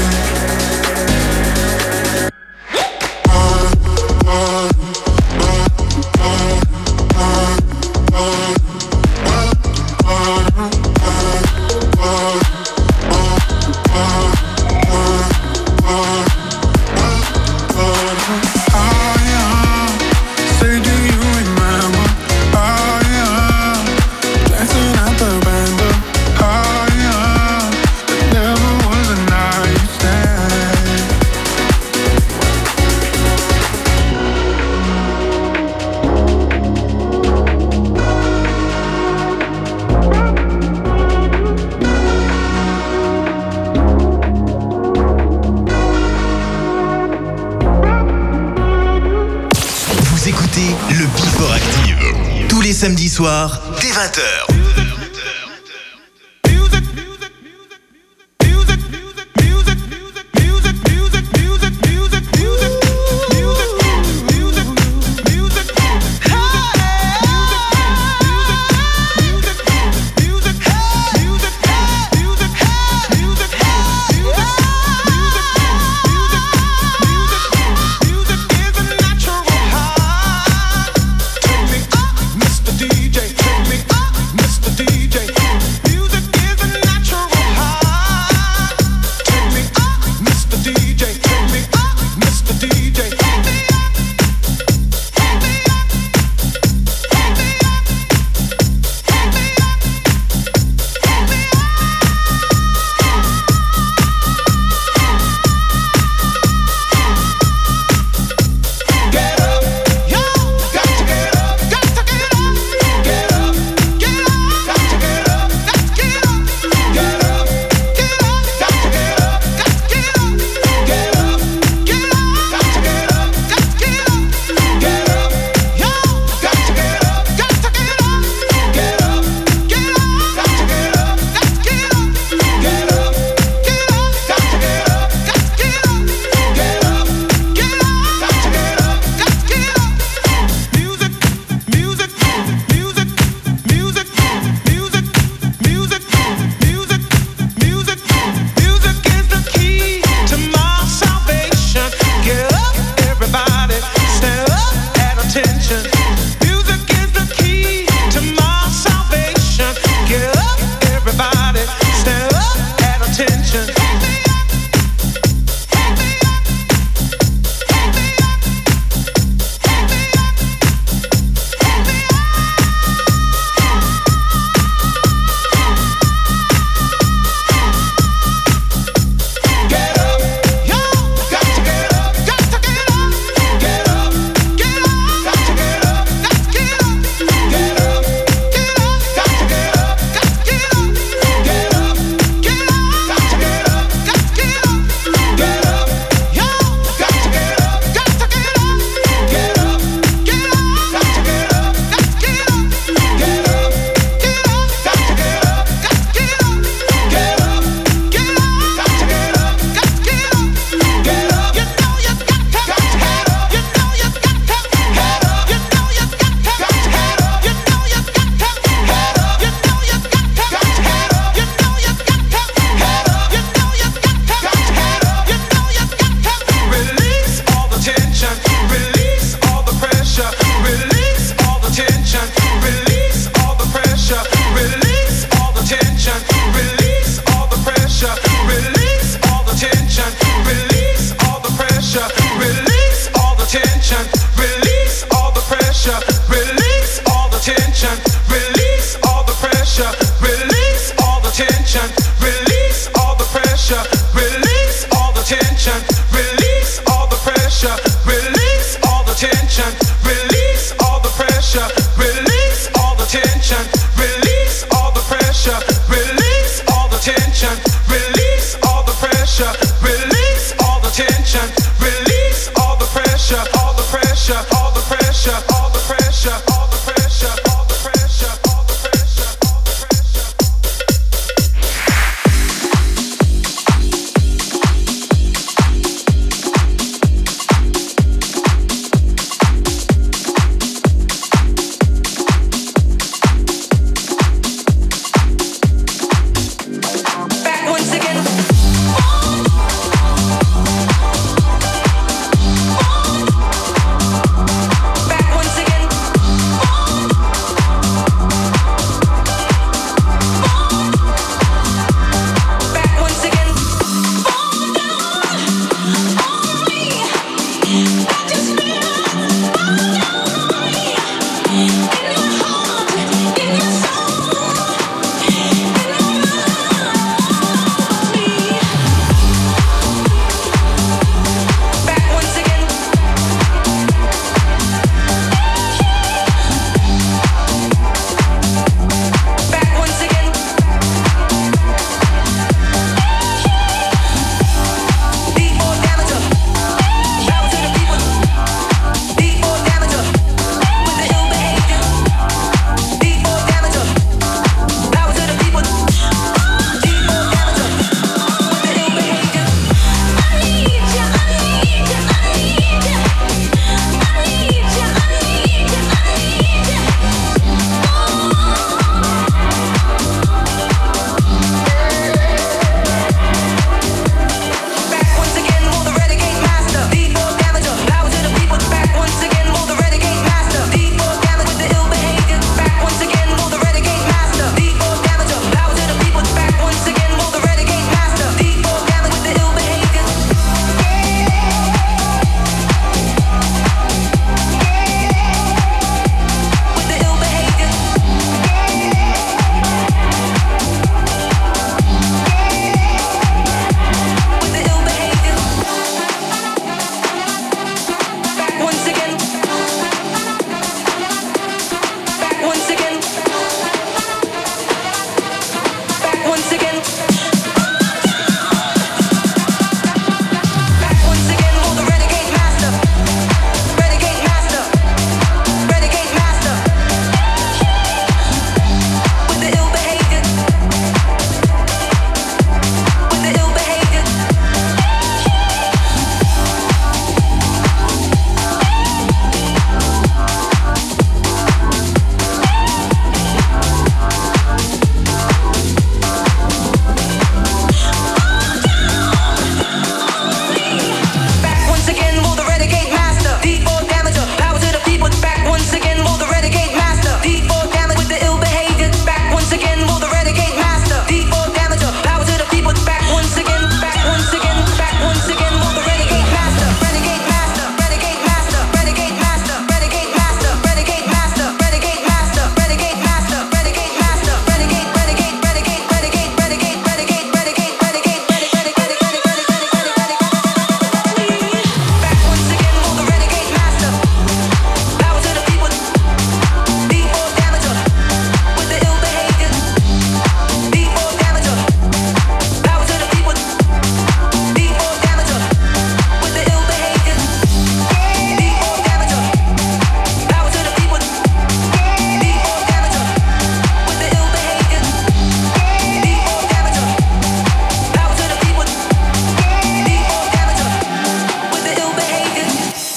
[SPEAKER 1] Samedi soir, dès vingt heures.
[SPEAKER 6] D J, take me up, Mister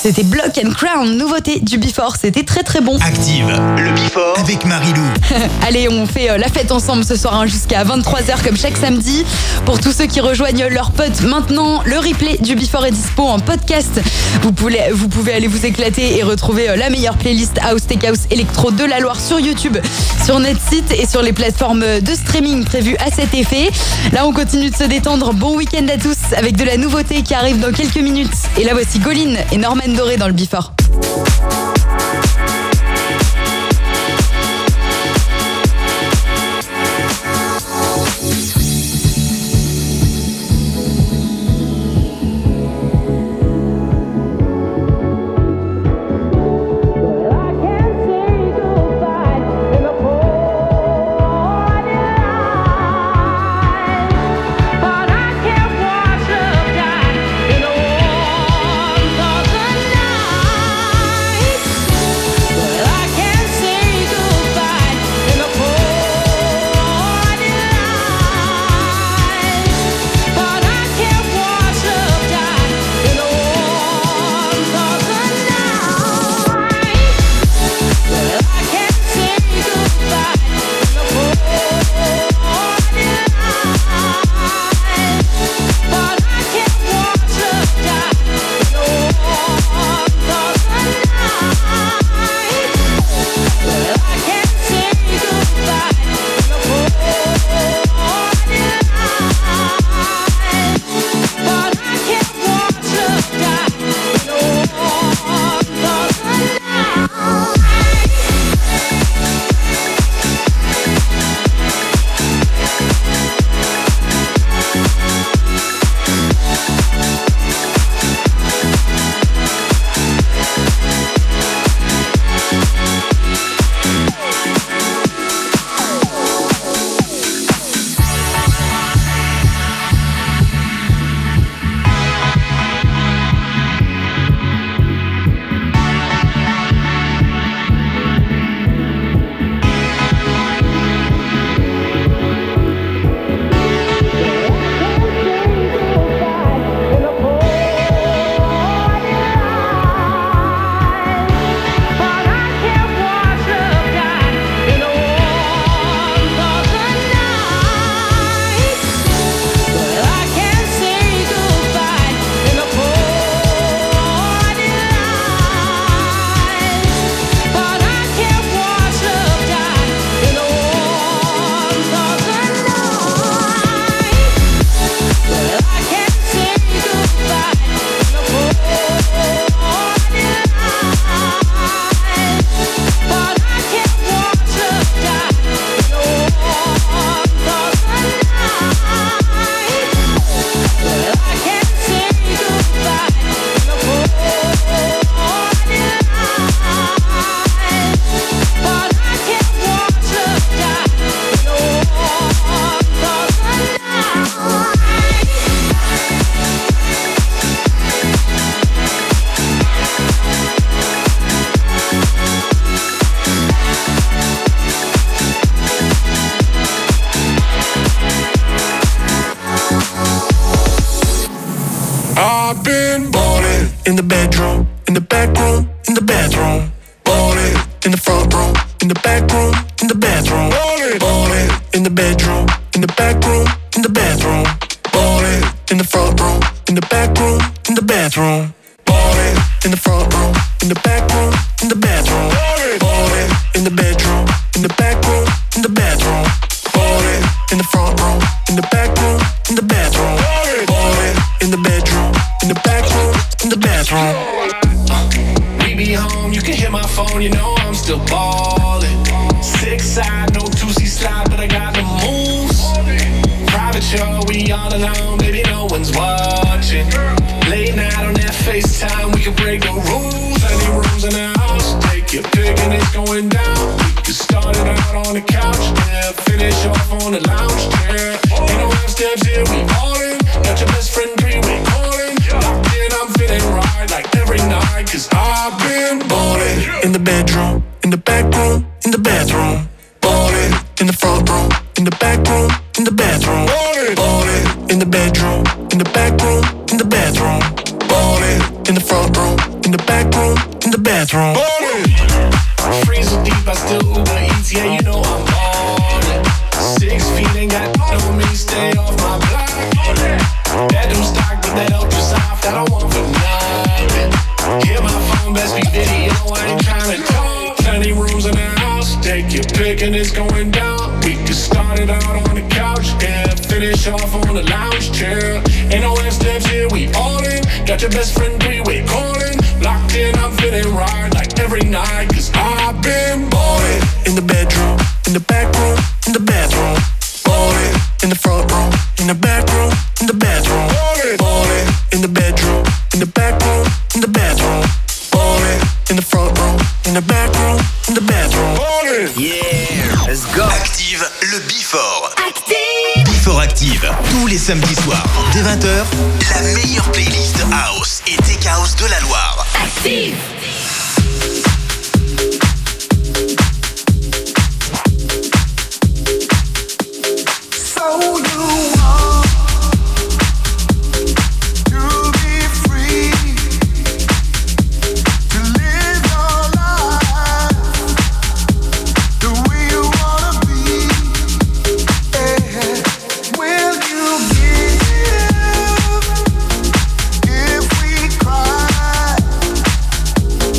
[SPEAKER 2] C'était Block and Crown, nouveauté du Before, c'était très très bon.
[SPEAKER 1] Active, le Before avec Marilou.
[SPEAKER 2] Allez, on fait la fête ensemble ce soir hein, jusqu'à vingt-trois heures comme chaque samedi. Pour tous ceux qui rejoignent leurs potes maintenant, le replay du Before est dispo en podcast. Vous pouvez, vous pouvez aller vous éclater et retrouver la meilleure playlist House, Tech House, Electro de la Loire sur YouTube, sur notre site et sur les plateformes de streaming prévues à cet effet. Là, on continue de se détendre. Bon week-end à tous avec de la nouveauté qui arrive dans quelques minutes. Et là, voici Goline et Norman Doré dans le Before.
[SPEAKER 10] In the bedroom, in the back room, in the bathroom. Ballin'. In the front room, in the back room, in the bathroom. Ballin'. Ballin'. In the bedroom, in the back room, in the bathroom. Ballin'. In the front room, in the back room, in the bathroom. Ballin'. In the front room, in the back room, in the bathroom. Ballin'. In the bedroom, in the back room, in the bathroom. Ballin'. In the front room, in the back room, in the bathroom. Ballin'. In the bedroom, in the back room, in the bathroom.
[SPEAKER 13] We be home, you can hit my phone, you know I'm still ballin'. Six side, no two C slide, but I got the moves. Private show, we all alone, baby, no one's watching. Late night on that FaceTime, we can break the rules. Any rooms in the house, take your pick and it's going down. We can start it out on the couch, yeah, finish off on the lounge chair. Ain't no half steps here, we all in. Got your best friend three-way calling. Locked in, I'm feeling right like every night, cause I've been ballin'.
[SPEAKER 10] In the bedroom, in the back room, in the bathroom. Ballin'. In the front room, in the back room, in the bathroom. Ballin'. In the bedroom, in the back room, in the bathroom. Ballin'. In the front room, in the back
[SPEAKER 13] back room, in the bathroom. Freezer deep, I still Uber Eats, yeah, you know I'm ballin'. Six feet ain't got no me, stay off my block. Bedroom stock, but that ultra soft, I don't want for nothing. Hit my phone, best be video, I ain't tryna talk. Plenty rooms in the house, take your pick and it's going down. We can start it out on the couch, yeah, finish off on the lounge chair. Ain't no half steps here, we all in. Got your best friend three-way calling. Locked in, I'm feeling right like every night, cause I've been ballin'. In the bedroom, in the back room, in the bathroom. Ballin'. In the front room, in the back room, in the bathroom. Ballin'. In the bedroom, in the back room, in the bathroom. Ballin'. In the front room, in the back room, in the bathroom. Ballin'.
[SPEAKER 1] Yeah, let's go. Active le Before. Active. Before Active, tous les samedis soirs, dès vingt heures, la meilleure playlist House et Tech House de la Loire. Active.
[SPEAKER 7] So you want to be free, to live your life the way you wanna be. Yeah. Will you give if we cry?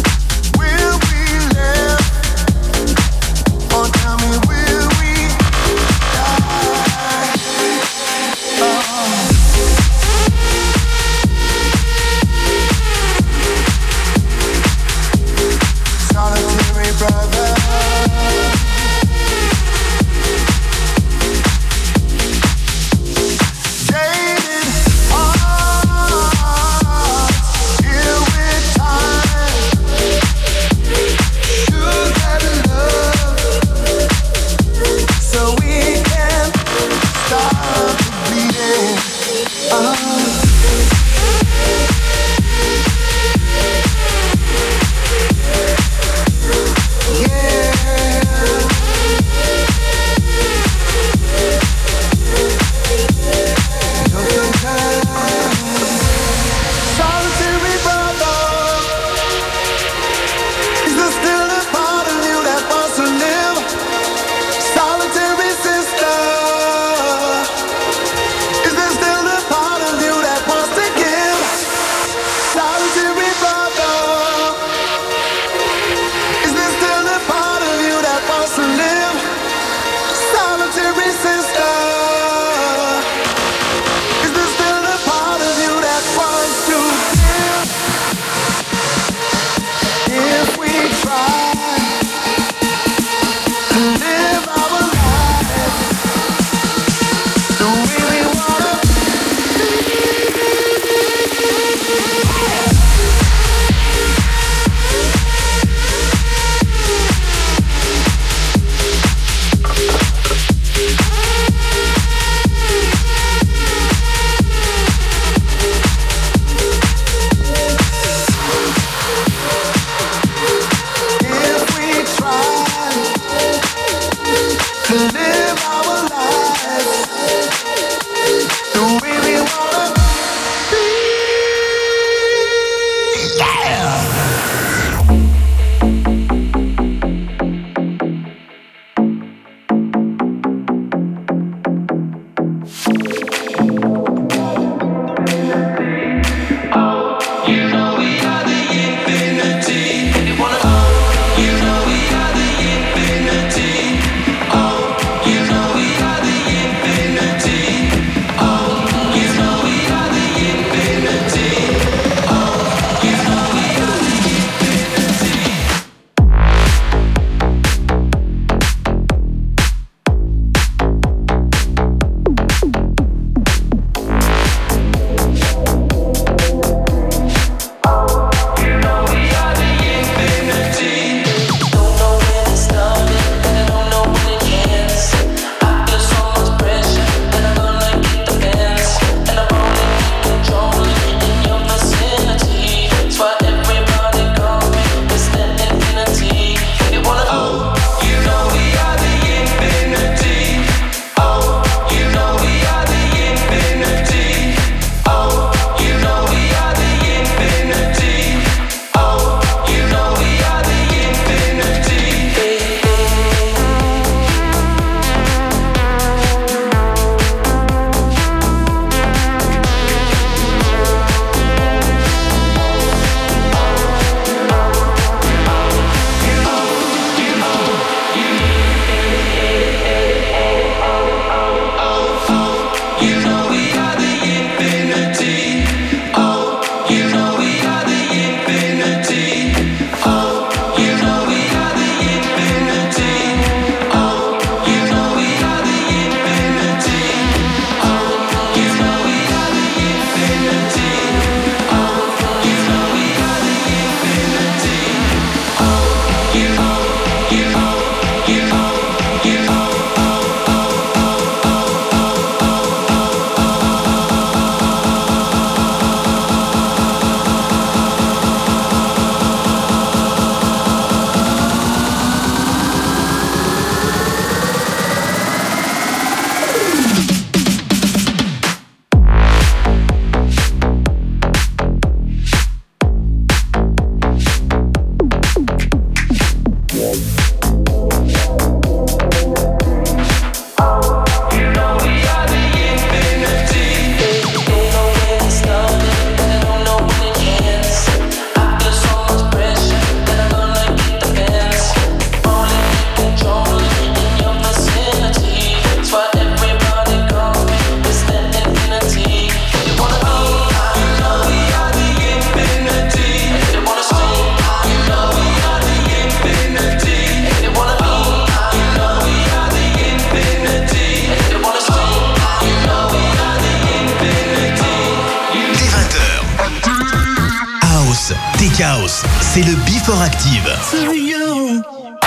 [SPEAKER 1] c'est le Before Active.
[SPEAKER 10] To you.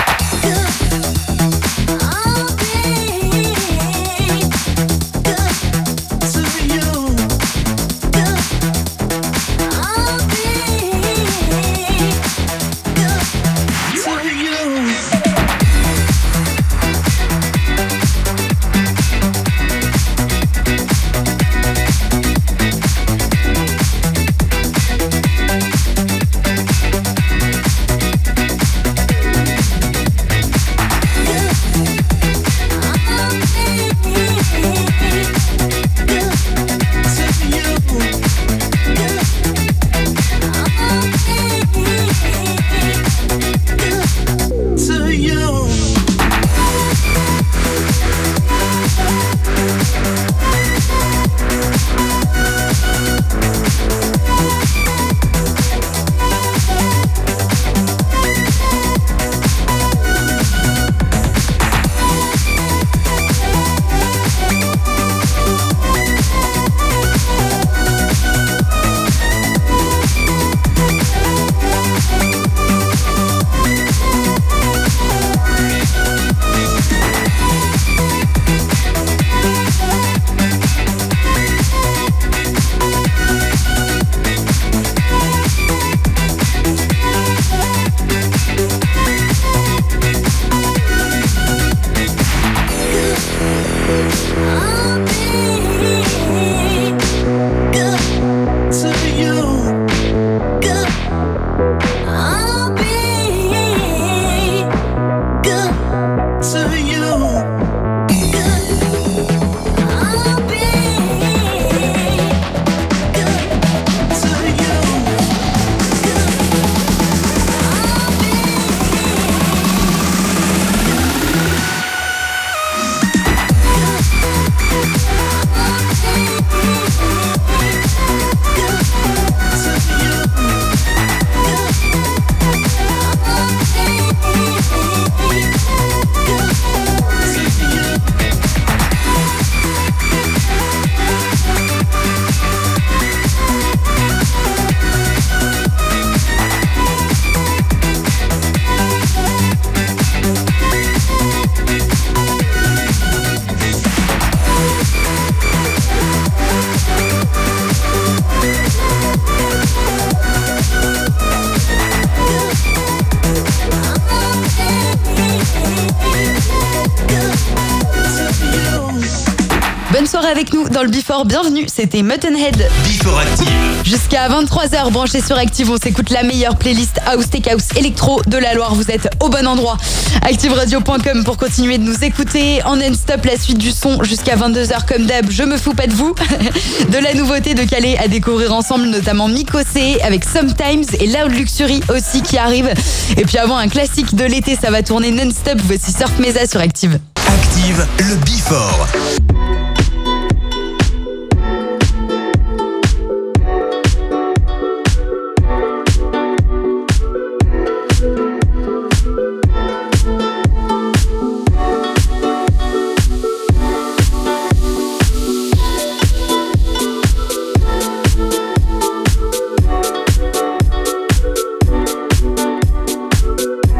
[SPEAKER 2] Avec nous dans le Before, bienvenue, c'était Muttonhead.
[SPEAKER 1] Before Active.
[SPEAKER 2] Jusqu'à vingt-trois heures, branchés sur Active, on s'écoute la meilleure playlist House, Tech House, Electro de la Loire. Vous êtes au bon endroit. active radio point com pour continuer de nous écouter. En non-stop, la suite du son jusqu'à vingt-deux heures comme d'hab. Je me fous pas de vous. De la nouveauté de Calais à découvrir ensemble, notamment Mikosé avec Sometimes et Loud Luxury aussi qui arrive. Et puis avant un classique de l'été, ça va tourner non-stop. Voici Surf Mesa sur Active.
[SPEAKER 1] Active, le Before.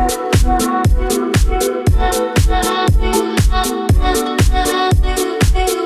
[SPEAKER 5] Thank you.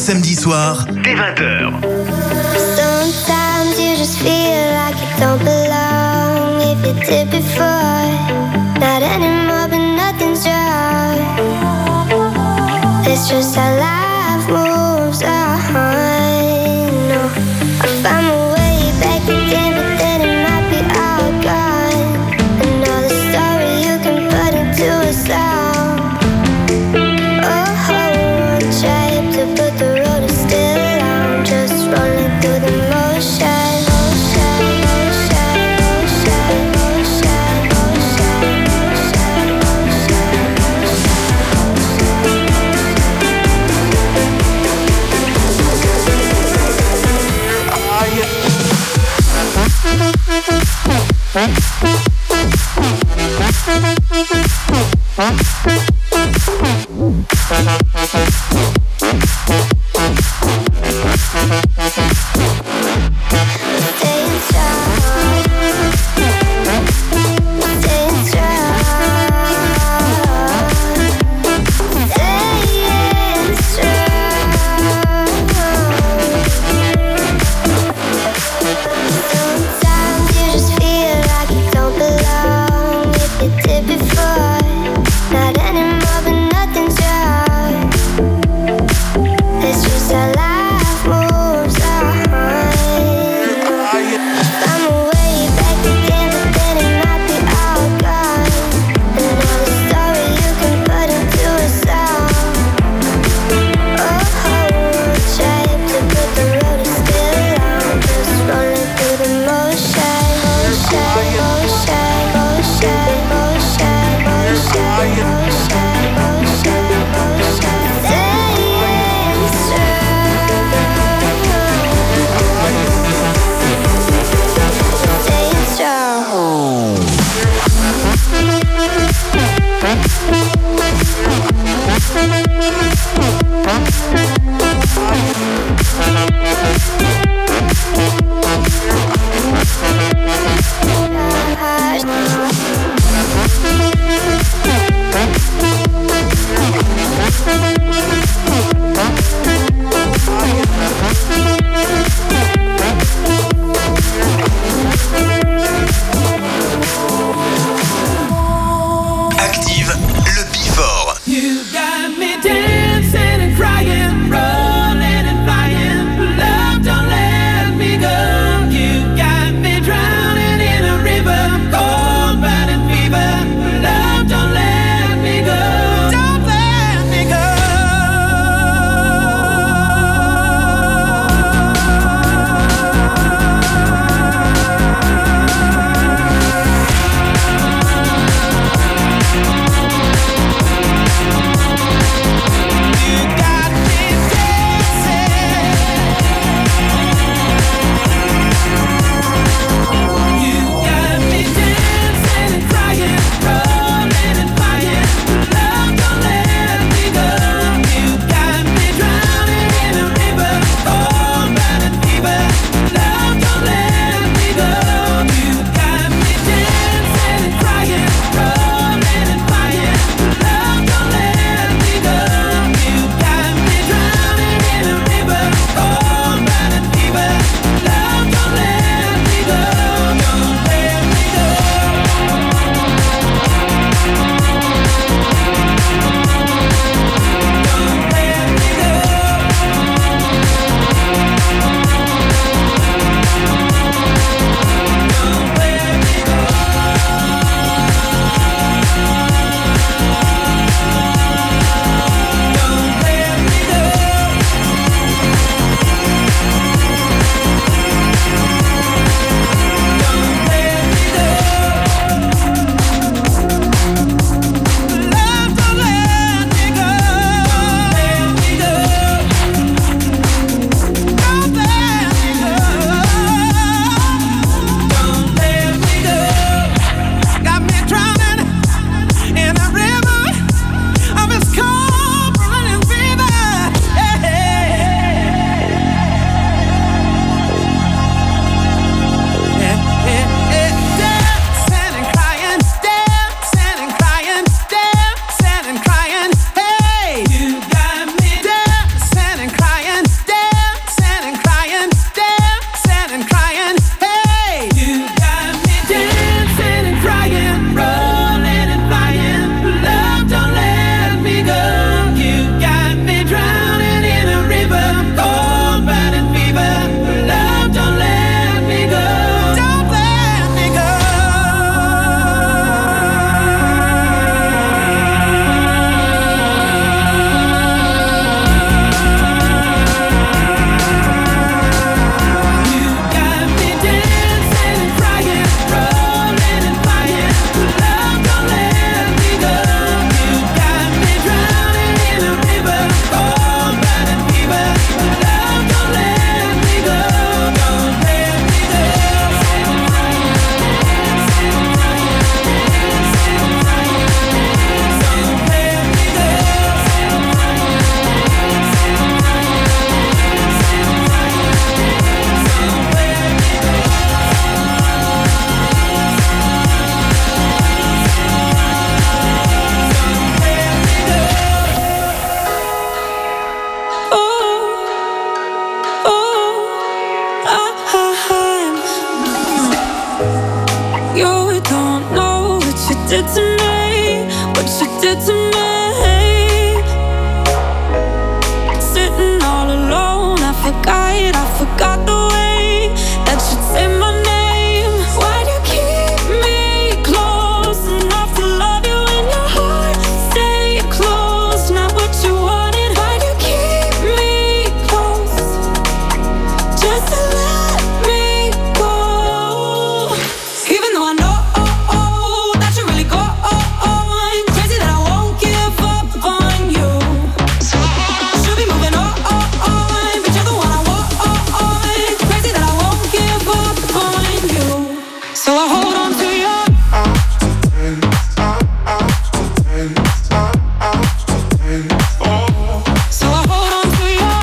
[SPEAKER 1] samedis soirs, dès vingt heures.
[SPEAKER 5] Sometimes you just feel like you don't belong. If you did before, not anymore, but nothing's wrong. It's just how life moves on. No, I found my way back again, but then it might be all gone. Another story you can put into a song. Oh, one trip to put the road is still on, just rolling through the motion.
[SPEAKER 11] bed, I forgot the way that you'd say my name. Why do you keep me close enough to love you in your heart? Stay close, not what you wanted. Why do you keep me close just to let me go? Even though I know that you really go on, crazy that I won't give up on you. Should be moving on, but you're the one I want. Crazy that I won't give up on you. So I hold on to your. So I hold on to your.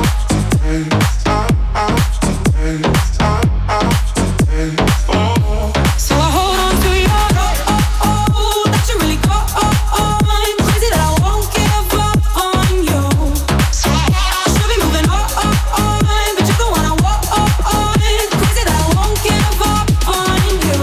[SPEAKER 11] So I hold on to your. That you really go on. Crazy that I won't give up on you. Should be moving on, but you're the one I want. Crazy that I won't give up on you.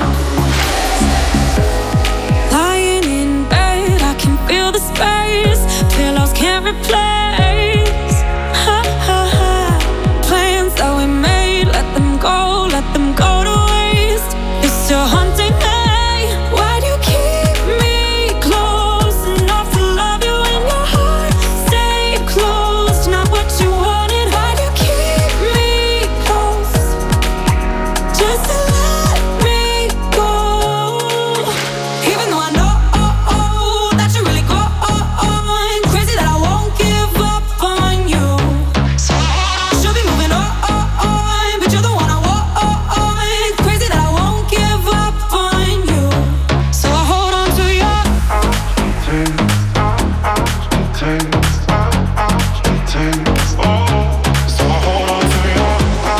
[SPEAKER 11] Lying in bed, I can feel the space. Pillows can't replace. Ha, ha, ha. Plans that we made, let them go, let them go to waste. You're still haunting me. Why do you keep me close enough to love you in your heart? Stay close, not what you wanted. Why do you keep me close just to let me go? Even though I know that you really go on, crazy that I won't give up on you. Should be moving on, but you're the one I want. Crazy that I won't give up on you. So I hold on to your.
[SPEAKER 8] So I hold on to your.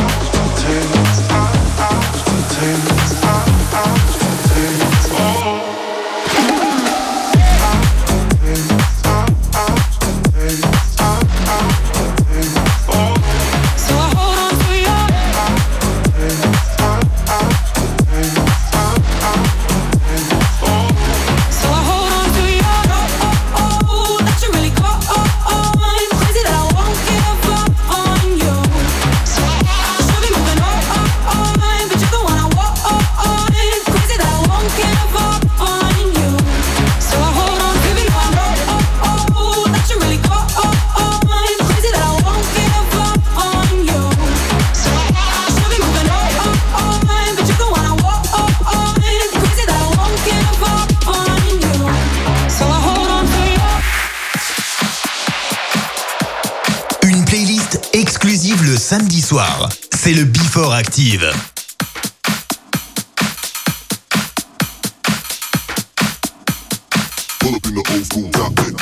[SPEAKER 11] So I hold on to your. So I hold on to your. That you really go on. Crazy that I won't give up on you. Should be moving on, but you're the one I want. Crazy that I won't give up on you. So I hold on, even though I know that you really go on. Crazy that I won't give up on you. Should be moving on, but you're the one I want. Crazy that I won't give up on you. So I hold on to you.
[SPEAKER 1] Une playlist exclusive le samedi soir. C'est le Before Active.
[SPEAKER 8] Pull up in the old school top ten.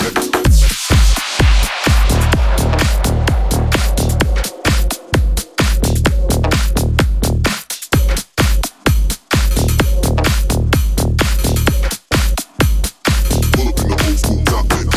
[SPEAKER 8] Pull up in the old school top ten.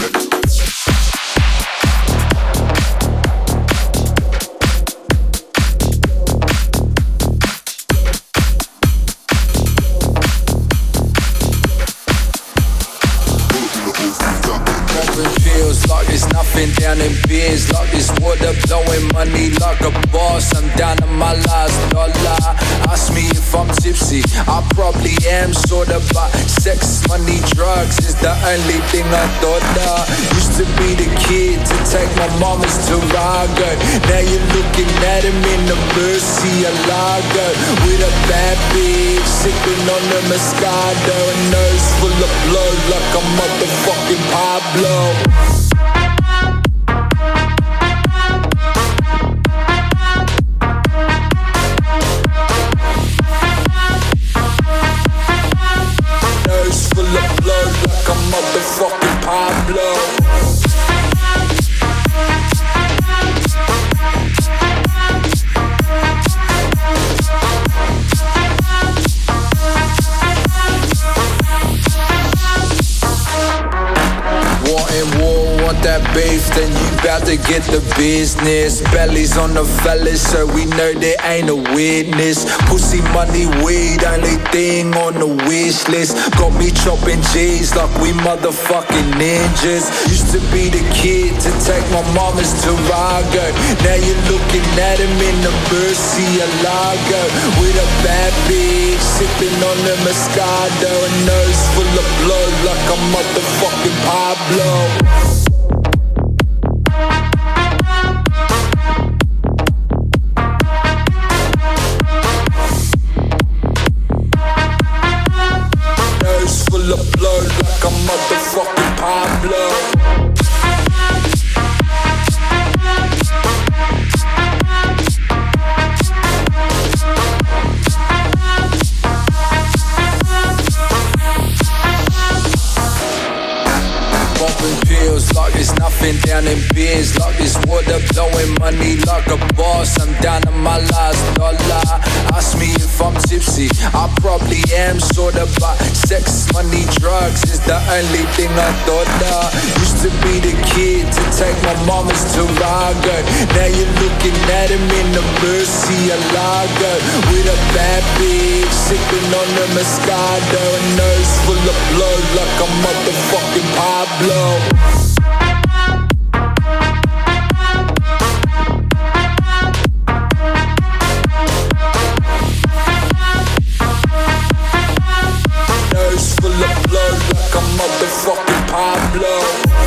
[SPEAKER 14] It feels like there's nothing down in beers. Like this water blowing money like a boss. I'm down to my last dollar. Ask me if I'm tipsy, I probably am sorta, but sex, money, drugs is the only thing I thought of. Used to be the kid to take my mama's Tarago. Now you're looking at him in the Murcielago with a bad bitch sipping on the Moscato, a nose full of blood like a motherfucking Pablo. Nose full of blood like a motherfucking Pablo. Wanting war about to get the business. Bellies on the fellas, so we know there ain't a witness. Pussy, money, weed, only thing on the wish list. Got me chopping G's like we motherfucking ninjas. Used to be the kid to take my mama's Tarago. Now you're looking at him in the Murcielago with a bad bitch sipping on the Moscato. A nose full of blood like a motherfucking Pablo. Full of blood like a motherfucking Pablo. Popping pills like it's nothing down in beers. Like it's water blowing money like a boss. I'm down to my last dollar. Ask me if I'm tipsy, I probably am sorta, but sex, money, drugs is the only thing I thought of. Used to be the kid to take my mama's Tarago. Now you're looking at him in the Murcielago with a bad bitch sipping on the Moscato. A nose full of blood like a motherfucking Pablo. Nose full of blood like a motherfucking Pablo.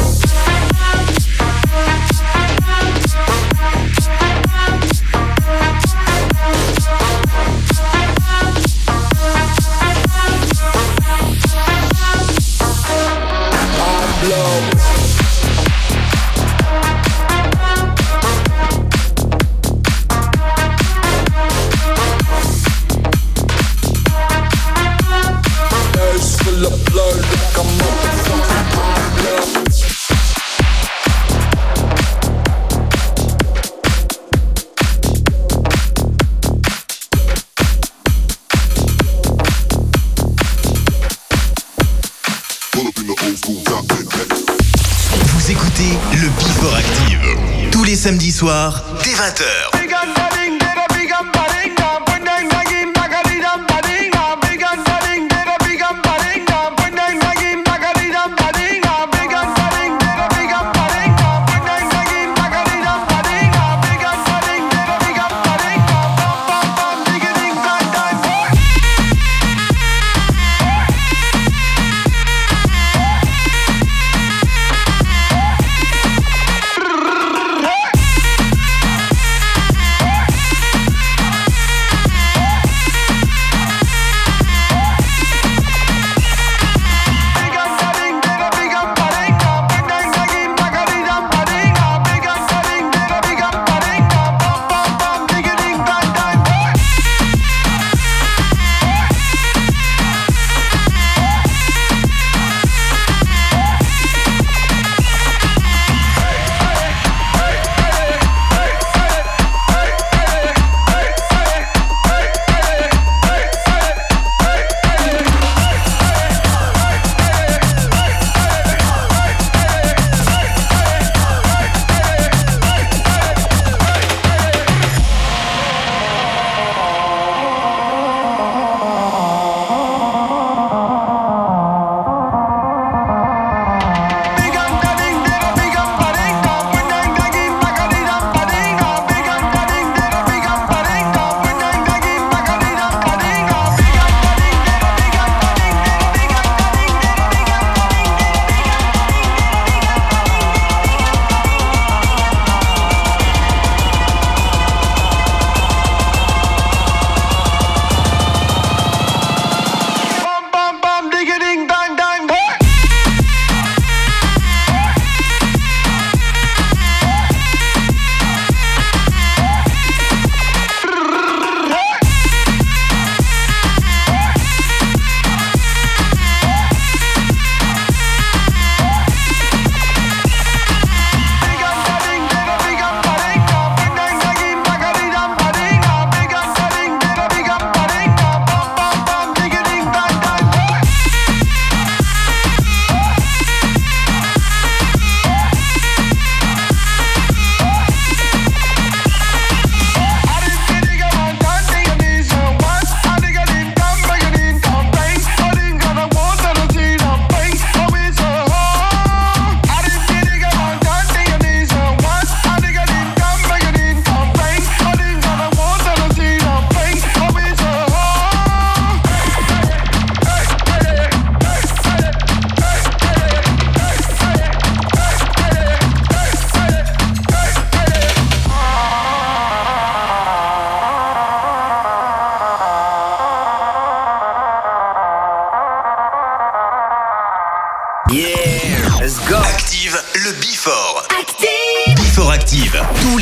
[SPEAKER 1] Vous écoutez le Before Active tous les samedis soirs dès vingt heures.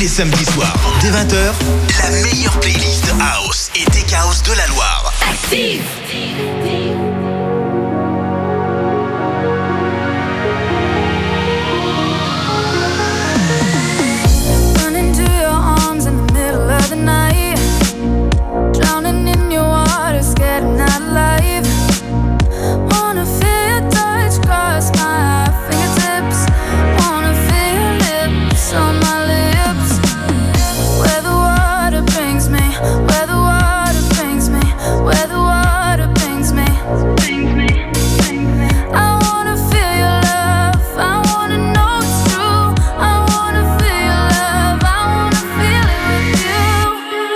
[SPEAKER 1] les samedis soirs, dès vingt heures, la meilleure playlist House et Tech House de la Loire.
[SPEAKER 5] Active.
[SPEAKER 11] Run into your arms in the middle of the night, drowning in your water, scared I'm not alive. Wanna feel your touch cross my fingertips, wanna feel your lips on my lips. Where the water brings me, where the water brings me, where the water brings me. I wanna feel your love, I wanna know it's true. I wanna feel your love, I wanna feel it with you.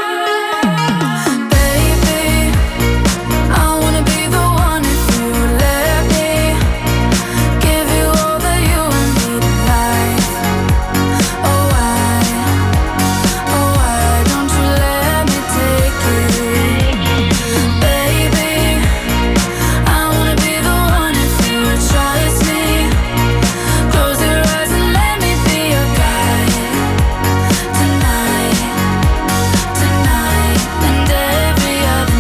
[SPEAKER 11] Baby, I wanna be the one if you let me give you all that you need in life. Oh why, oh why don't you let me take you? Baby, I wanna be the one if you trust me. Close your eyes and let me be your guide. Tonight, tonight, and every other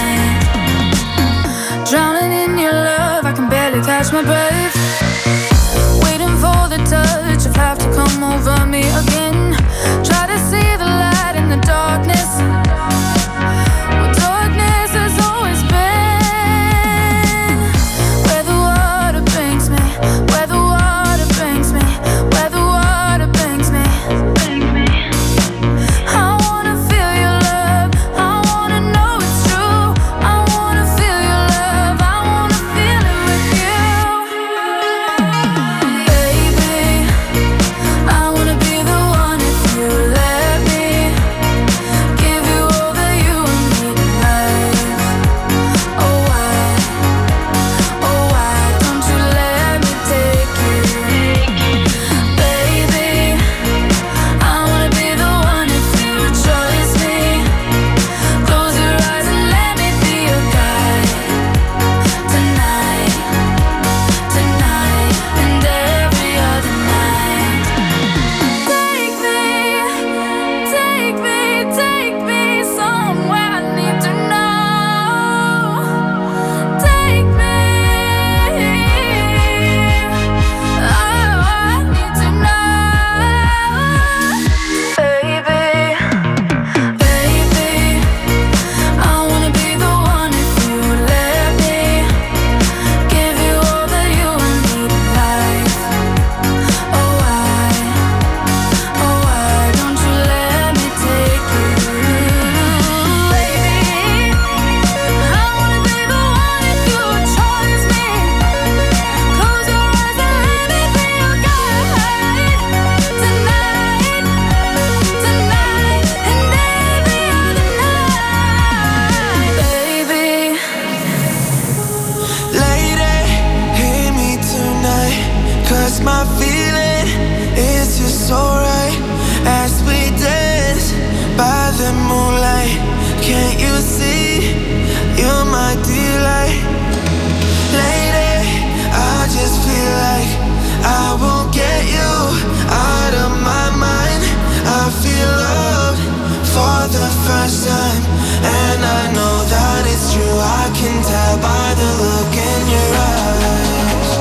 [SPEAKER 11] night. Drowning in your love, I can barely catch my breath. Waiting for the touch of have to come over me again. Try to see the light in the darkness. Well, darkness has always been. Where the water brings me, where the water brings me, where the water brings me. I wanna feel your love, I wanna know it's true. I wanna feel your love, I wanna feel it with you. Baby, I wanna be the one if you let me give you all that you need in life. Oh why, oh why don't you let me take you? Baby, I wanna be the one if you trust me. Close your eyes and let me be your guide. Tonight, tonight, and every other night. Take me, take me, take me somewhere I need to know. Take me, oh, I need to know. Baby, baby, I wanna be the one if you let me give you all that you need in life. Oh why, oh why don't you let me take you? Baby, I wanna be the one if you trust me. Close your eyes and let me be your guide. Tonight, tonight, and every other night. Baby,
[SPEAKER 10] Lady, hear me tonight, cause my feeling is just so right. As we dance by the moonlight, can't you see, you're my delight. Lady, I just feel like I won't get you out of my mind. I feel loved for the first time, and I know that it's true. I can tell by the look in your eyes.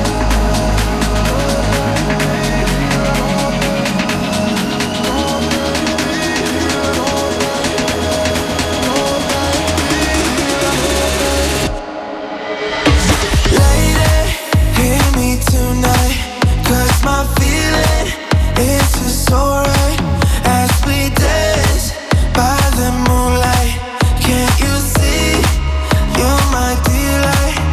[SPEAKER 10] Lady, hear me tonight, cause my feeling is just so right. As we dance by the moonlight, can't you see, you're my delight.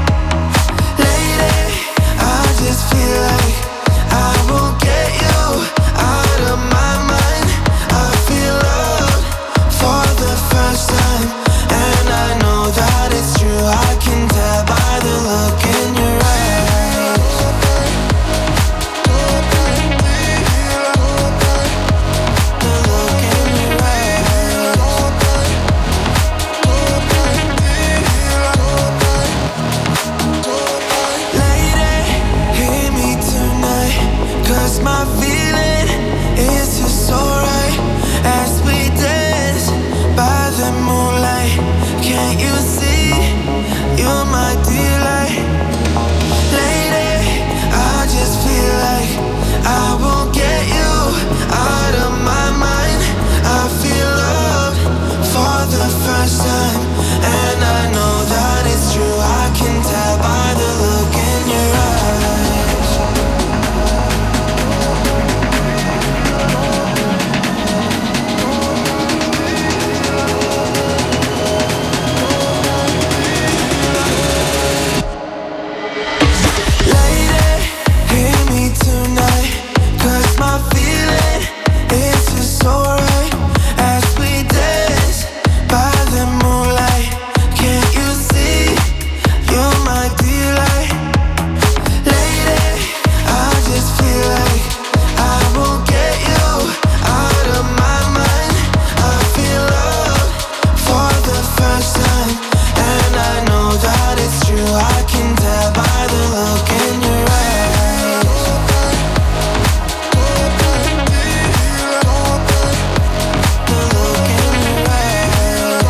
[SPEAKER 10] Can't you see you're my delight? Lady, I just feel like I won't get you out of my mind. I feel love for the first time, and I know that it's true. I can tell by the look in your eyes. Lady, hear me tonight, 'cause my feeling is just so right. As we dance by the moonlight, can't you see you're my delight? Lady, I just feel like I won't get you out of my mind. I feel love for the first time, and I know that it's true. I can tell by the look in your eyes. The look in your eyes.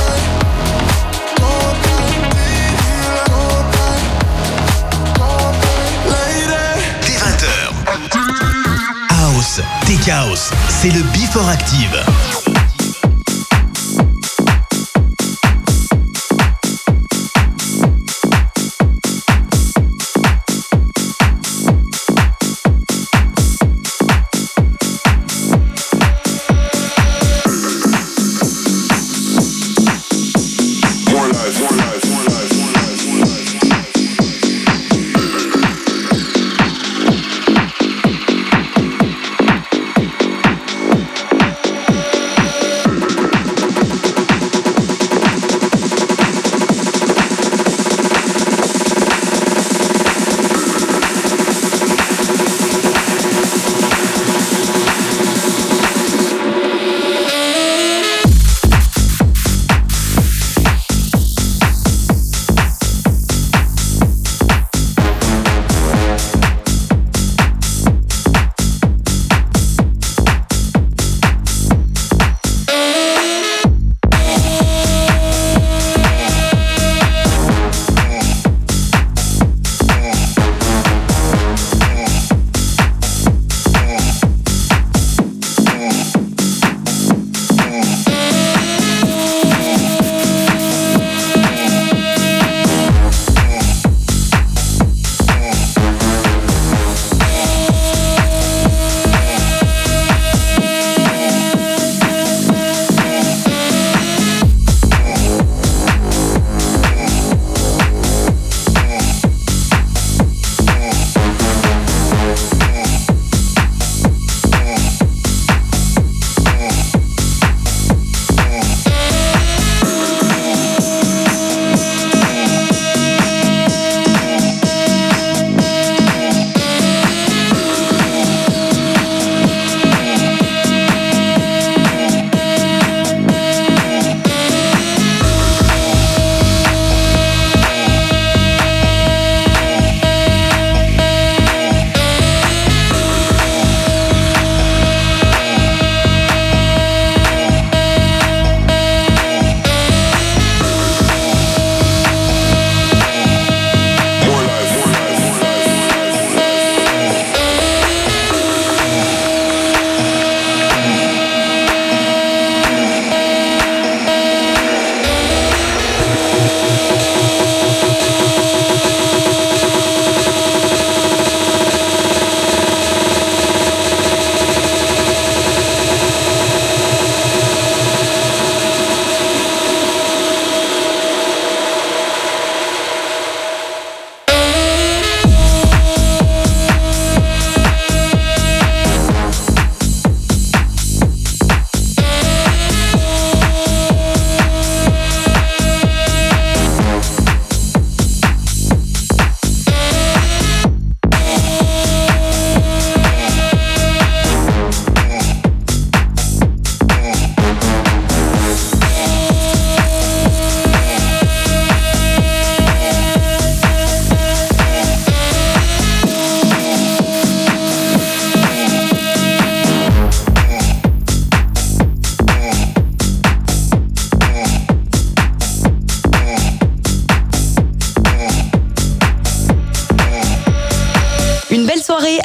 [SPEAKER 1] Dès vingt heures. House, Tech House, c'est le Before Active.
[SPEAKER 8] More life, more life, more life, more life, more life.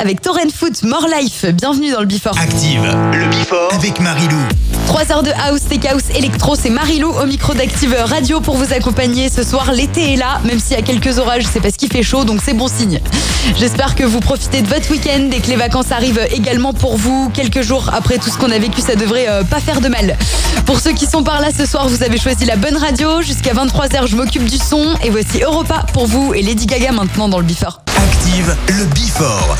[SPEAKER 2] avec Torrent Foot, More Life. Bienvenue dans le Before.
[SPEAKER 1] Active, le Before avec Marilou.
[SPEAKER 2] trois heures de house, tech house, électro, c'est Marilou au micro d'Active Radio pour vous accompagner ce soir. L'été est là, même s'il y a quelques orages, c'est parce qu'il fait chaud, donc c'est bon signe. J'espère que vous profitez de votre week-end et que les vacances arrivent également pour vous. Quelques jours après tout ce qu'on a vécu, ça devrait euh, pas faire de mal. Pour ceux qui sont par là ce soir, vous avez choisi la bonne radio. Jusqu'à vingt-trois heures, je m'occupe du son. Et voici Europa pour vous et Lady Gaga maintenant dans le Before.
[SPEAKER 1] Active, le Before.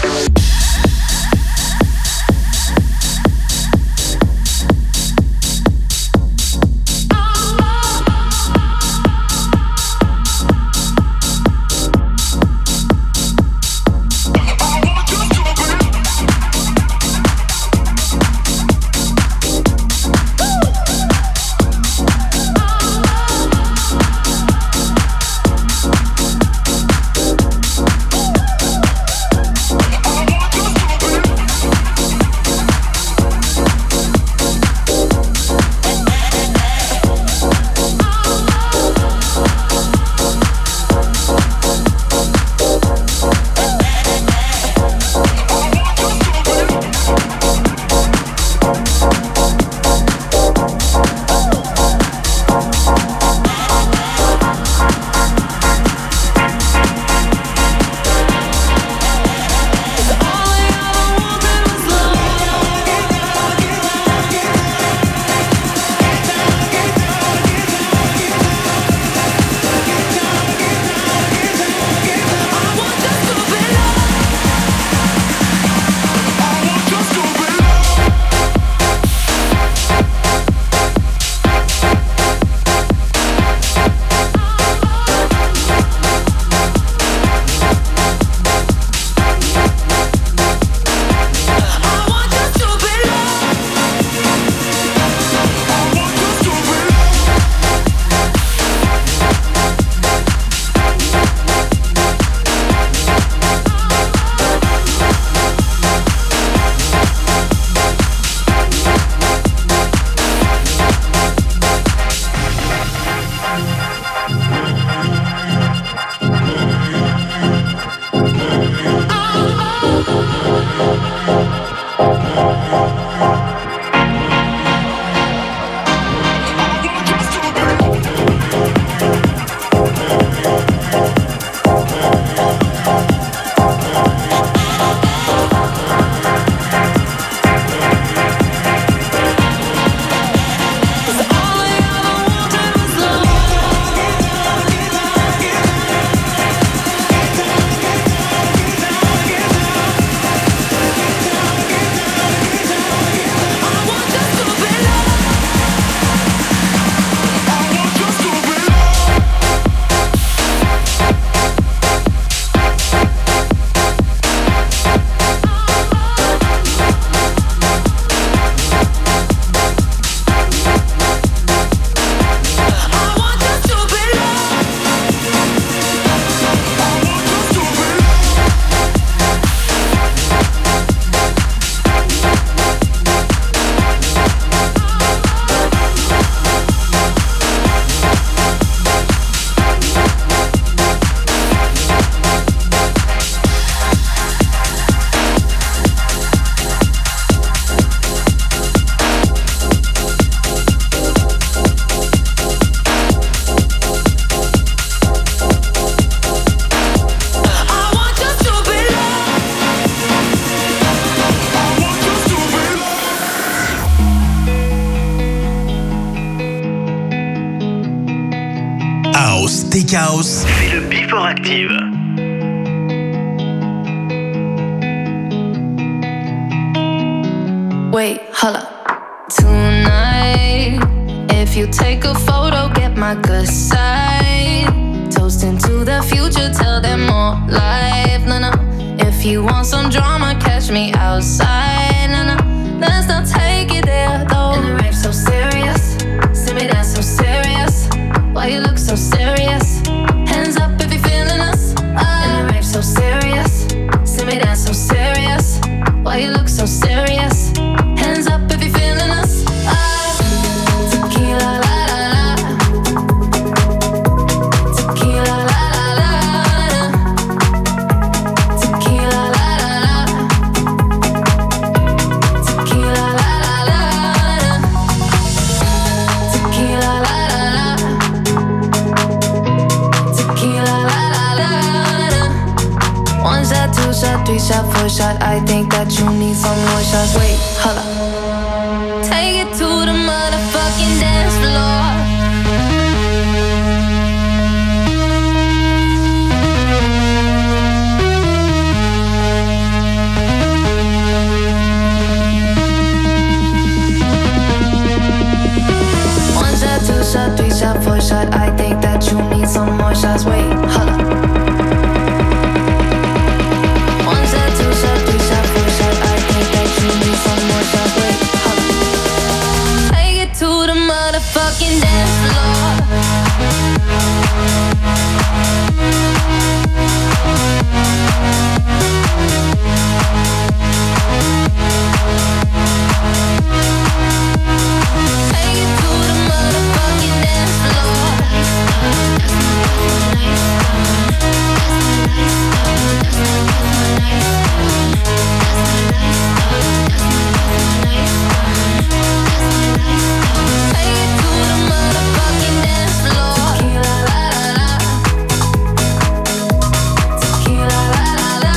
[SPEAKER 1] House, c'est le Before Active.
[SPEAKER 4] Wait, holla. Tonight, if you take a photo, get my good side. Toasting to the future, tell them more life. No, no. If you want some drama, catch me outside. No, no. Let's not take it there, though. And the rape's so serious. See me dance so serious. Why you look so serious? Hands up if you're feeling us. Uh, and the rape's so serious. See me dance so serious. Why you look so serious? Hands up if you're feeling us. Uh, tequila la la la. Tequila la la la. Tequila la la la. for a shot. I think that you need some more shots. Wait, hold up. Take it to the motherfucking dance floor. One shot, two shot, three shot, four shot. I think that you need some more shots. Wait, hold up. One shot, two shot, three shot, four shot. I think that you need some more shots. Wait, hold up. Take it to the motherfucking dance floor. Take it to the motherfucking dance floor. Tequila, la la la. Tequila, la la la.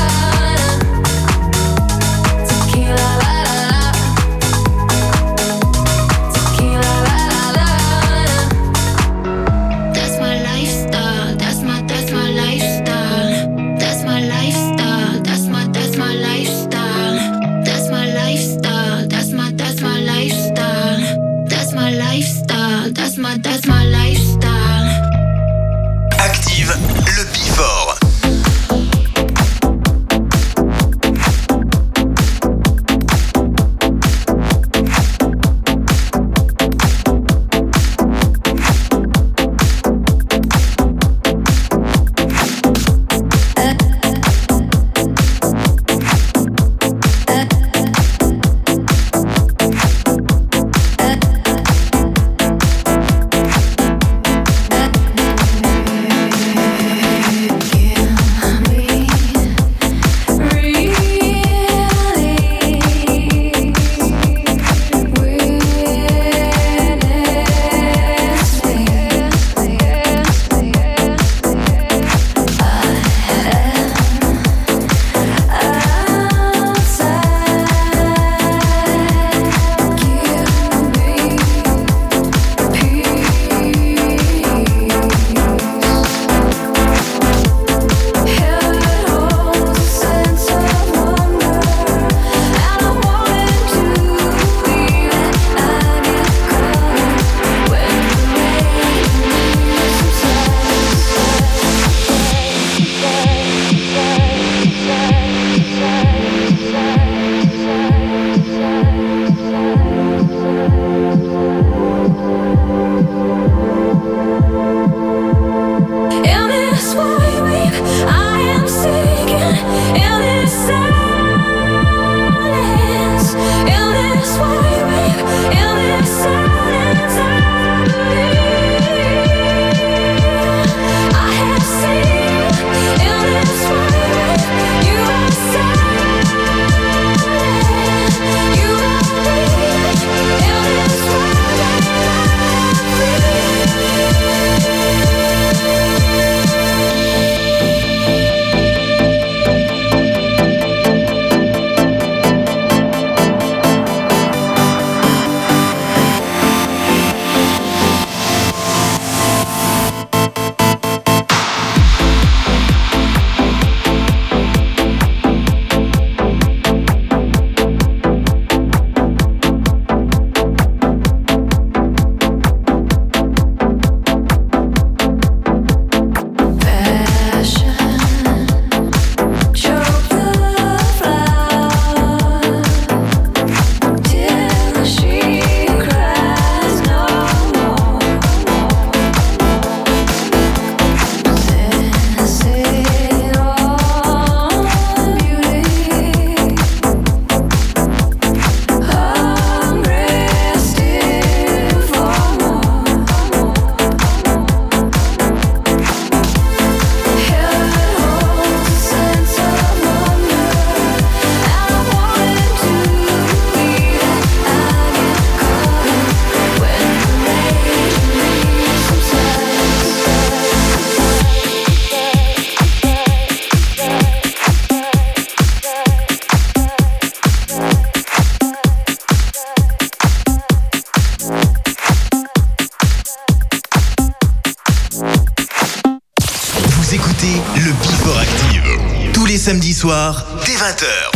[SPEAKER 1] écoutez le Before Active. Tous les samedis soirs, dès vingt heures.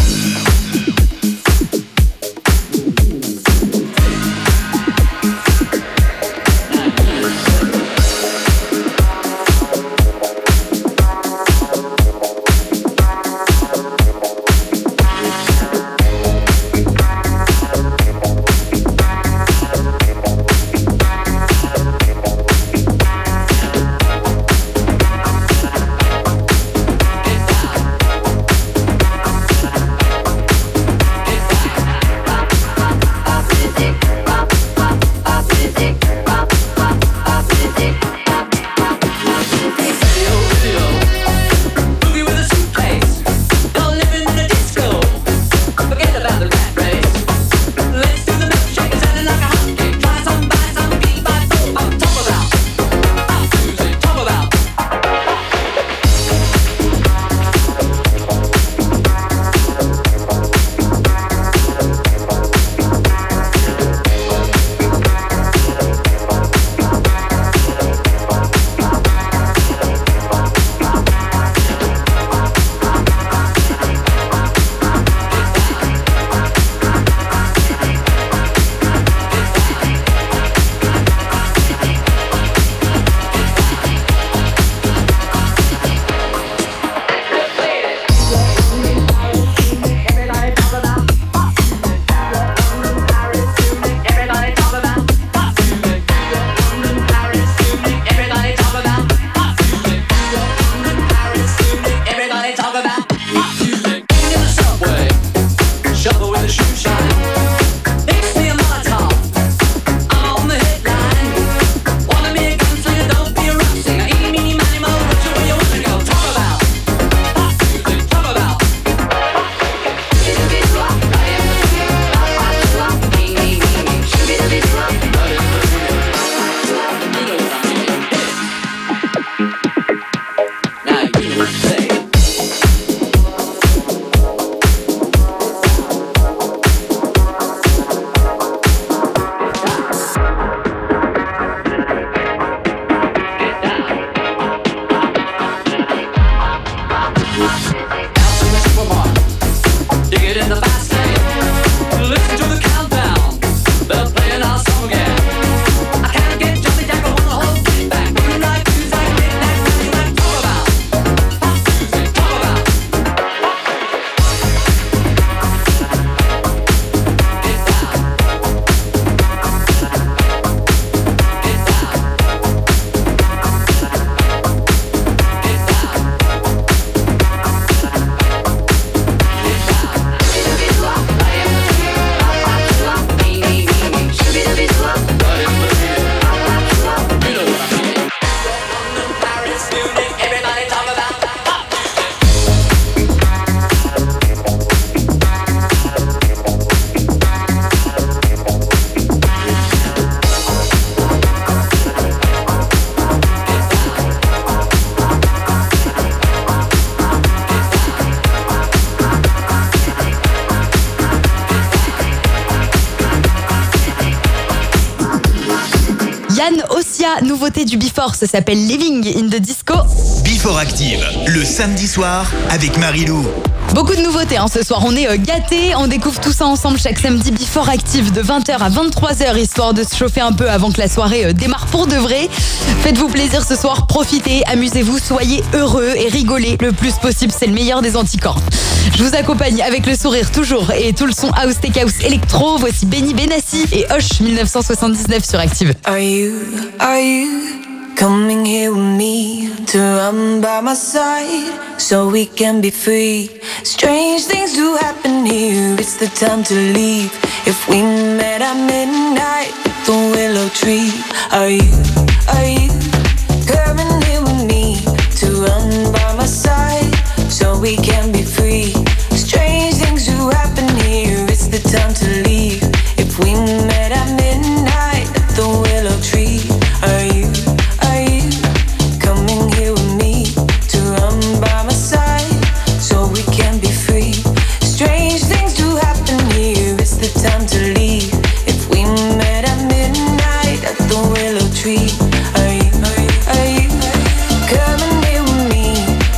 [SPEAKER 2] Yann Ossia, nouveauté du Before, ça s'appelle Living in the Disco.
[SPEAKER 1] Before Active, le samedi soir avec Marilou.
[SPEAKER 2] Beaucoup de nouveautés hein, ce soir, on est euh, gâtés, on découvre tout ça ensemble chaque samedi Before Active de vingt heures à vingt-trois heures, histoire de se chauffer un peu avant que la soirée euh, démarre pour de vrai. Faites-vous plaisir ce soir, profitez, amusez-vous, soyez heureux et rigolez le plus possible, c'est le meilleur des anticorps. Je vous accompagne avec le sourire toujours et tout le son house, tech house, électro. Voici Benny Benassi et Hush dix-neuf cent soixante-dix-neuf sur Active.
[SPEAKER 11] Are you, are you coming here with me to run by my side so we can be free? Strange things do happen here, it's the time to leave. If we met at midnight at the willow tree. Are you, are you coming here with me to run by my side so we can be free? Strange things do happen here, it's the time to leave. If we met at midnight at the willow tree. Are you, are you coming here with me to run by my side so we can be free? Strange things do happen here, it's the time to leave. If we met at midnight at the willow tree. Are you, are you, are you coming here with me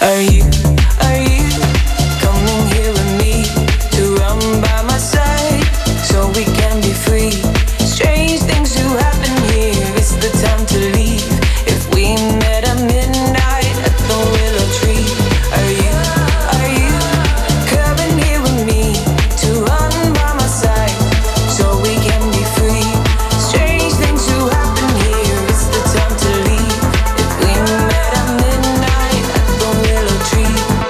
[SPEAKER 4] Are you, are you coming here with me to run by my side so we can be free? Strange things do happen here, it's the time to leave. If we met at midnight at the willow tree, are you, are you coming here with me to run by my side so we can be free? Strange things do happen here, it's the time to leave. If we met at midnight at the willow tree.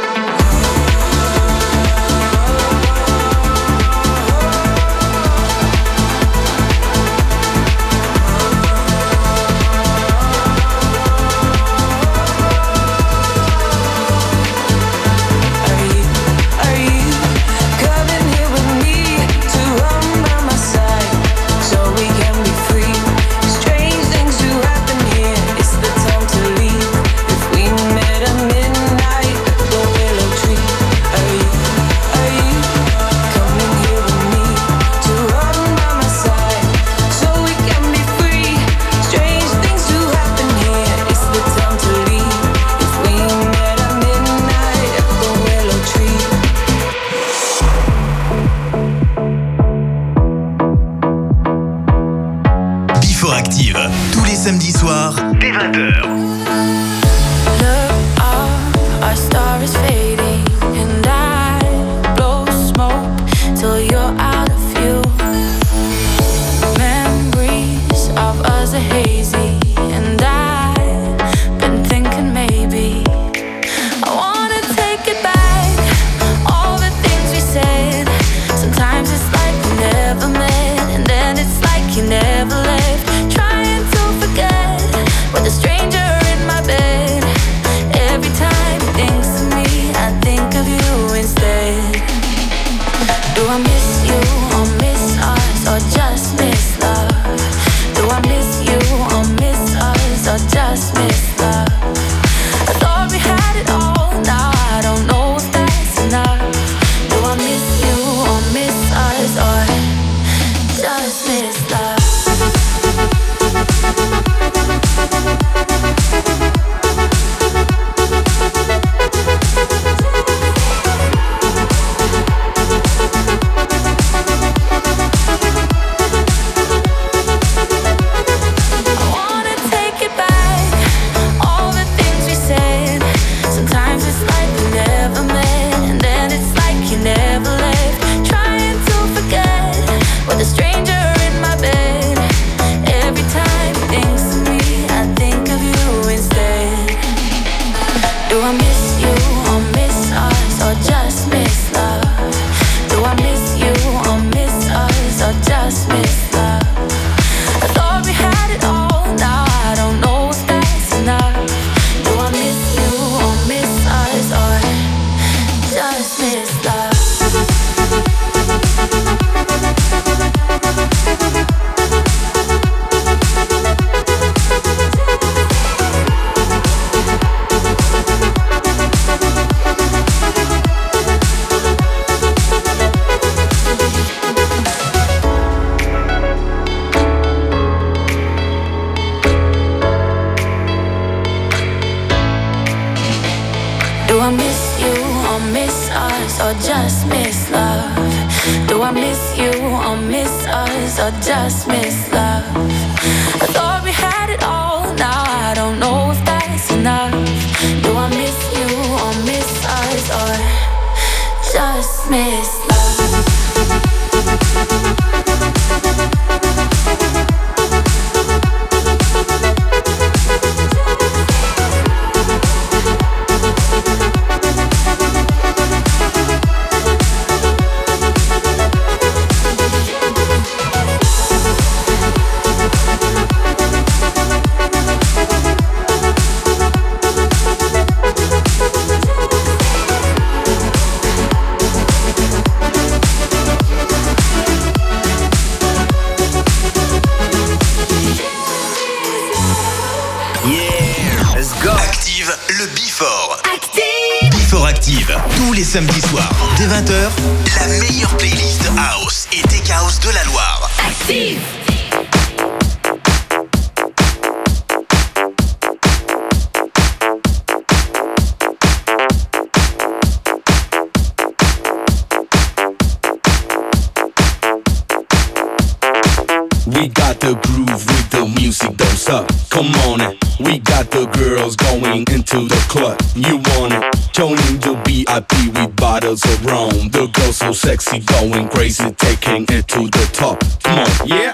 [SPEAKER 4] Are you coming here with me to run by my side so we can be free? Strange things do happen here, it's the time to leave. If we met at midnight at the willow tree. Are you, are you coming here with me to run by my side so we can be free? Strange things do happen here, it's the time to leave. If we met at midnight at the willow tree.
[SPEAKER 1] Before Active, tous les samedis soirs, dès vingt heures.
[SPEAKER 11] Look up, our star is fading, and I blow smoke till you're out of view. Memories of us are hazy, and I've been thinking maybe I wanna take it back. All the things we said. Sometimes it's like we never met, and then it's like you never left. Trying to forget with a stranger in my bed. Every time he thinks of me, I think of you instead. Do I miss you or miss us or just miss love? Do I miss you or miss us or just miss love? I thought we had it all, now I don't know if that's enough. Do I miss you or miss us or just miss love? I wanna take it back, all the things we said. Sometimes it's like we never met, and then it's like you never left. Trying to forget with a stranger in my bed. Every time he thinks of me, I think of you instead. Do I miss you or miss us or just miss love? Do I miss you or miss us or just miss love? I thought we had it all, now I don't know if that's enough. Do I miss you or miss us or just miss love? Do I miss you or miss us or just miss love? Do I miss you or miss us or just miss love? I thought we had it all, now I don't know if that's enough. Do I miss you or miss us or just miss love?
[SPEAKER 1] Le Before. Active. Before Active. Tous les samedis soirs, dès vingt heures, la meilleure playlist House et Tech House de la Loire. Active.
[SPEAKER 15] going into the club. You want it? Joining the V I P with bottles of rum. The girl so sexy, going crazy, taking it to the top. Come on, yeah.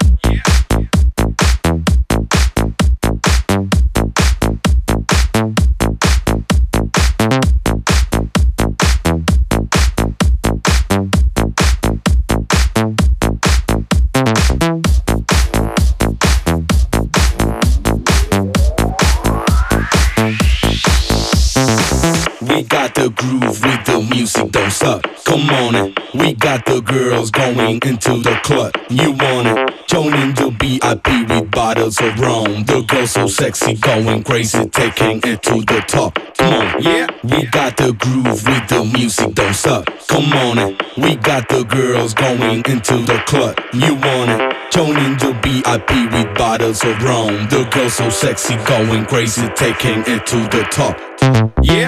[SPEAKER 15] We got the groove with the music, don't suck. Come on in. We got the girls going into the club. You want it? Joining the V I P with bottles of rum. The girl so sexy, going crazy, taking it to the top. Come on, yeah. We got the groove with the music, don't suck. Come on in. We got the girls going into the club. You want it? Joining the V I P with bottles of rum. The girl so sexy, going crazy, taking it to the top. Yeah.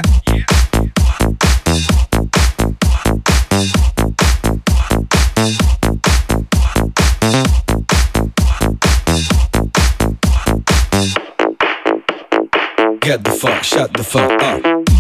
[SPEAKER 15] Get the fuck, shut the fuck up.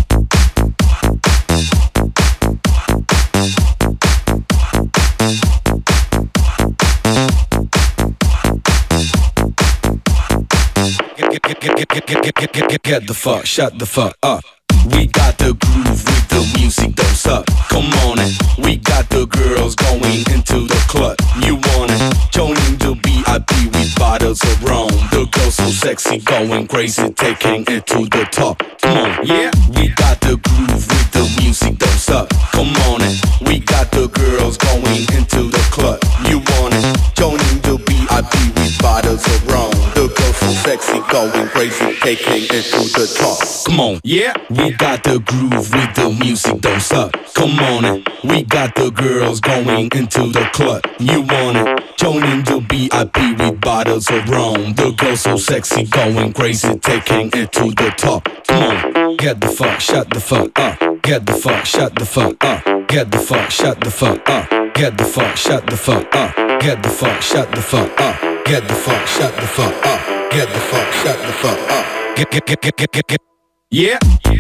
[SPEAKER 15] Get, get, get, get, get, get, get, get, get, get the fuck, shut the fuck up. We got the groove with the music, don't suck. Come on in. We got the girls going into the club. You want it? Joining the V I P with bottles of rum. The girl so sexy, going crazy, taking it to the top. Come on, yeah. We got the groove with the music, don't suck. Come on in. We got the girls going into the club. You want it? Joining the V I P with bottles of rum. The girl so sexy, going crazy, taking it to the top. Come on, yeah. We got the groove with the music, don't suck. Come on in. We got the girls going into the club. You want it? Joining the V I P with bottles of rum. The girl so sexy, going crazy, taking it to the top. Come on, get the fuck, shut the fuck up. Get the fuck, shut the fuck up. Get the fuck, shut the fuck up. Get the fuck, shut the fuck up. Get the fuck, shut the fuck up. Get the fuck, shut the fuck up. Get the fuck, shut the fuck up. Get, get, get, get, get, get, get. Yeah.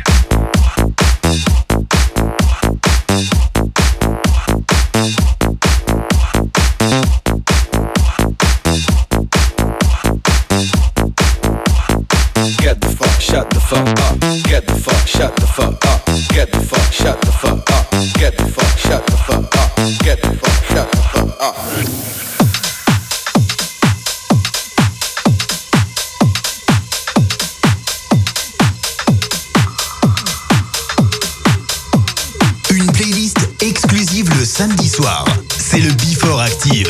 [SPEAKER 15] Get the fuck, shut the fuck up. Get the fuck, shut the fuck up. Get the fuck, shut the fuck up. Get the fuck, shut the fuck up. Get the fuck, shut the fuck up.
[SPEAKER 1] Une playlist exclusive le samedi soir. C'est le Before Active.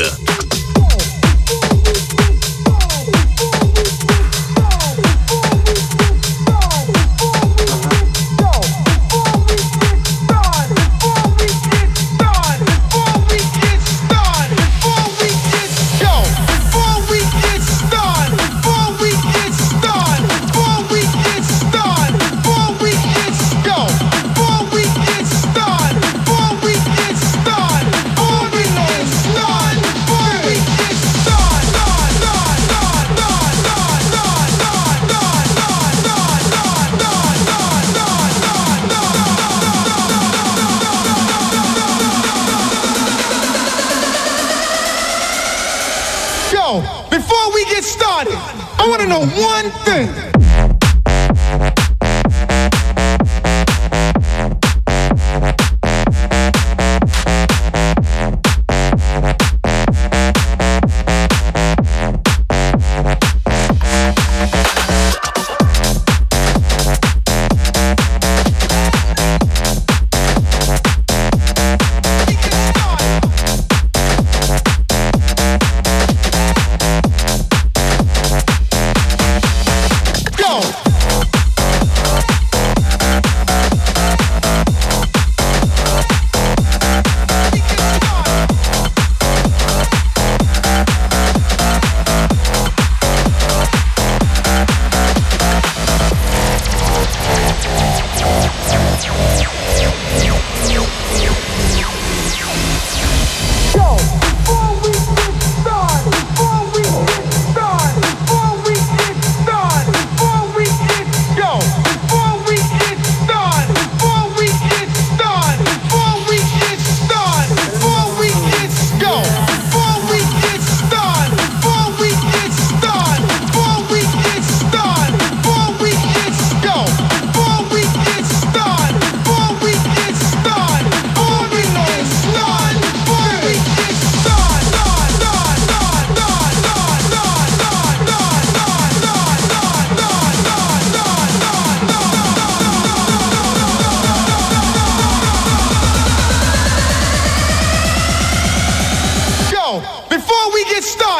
[SPEAKER 6] Before we get started, I want to know one thing.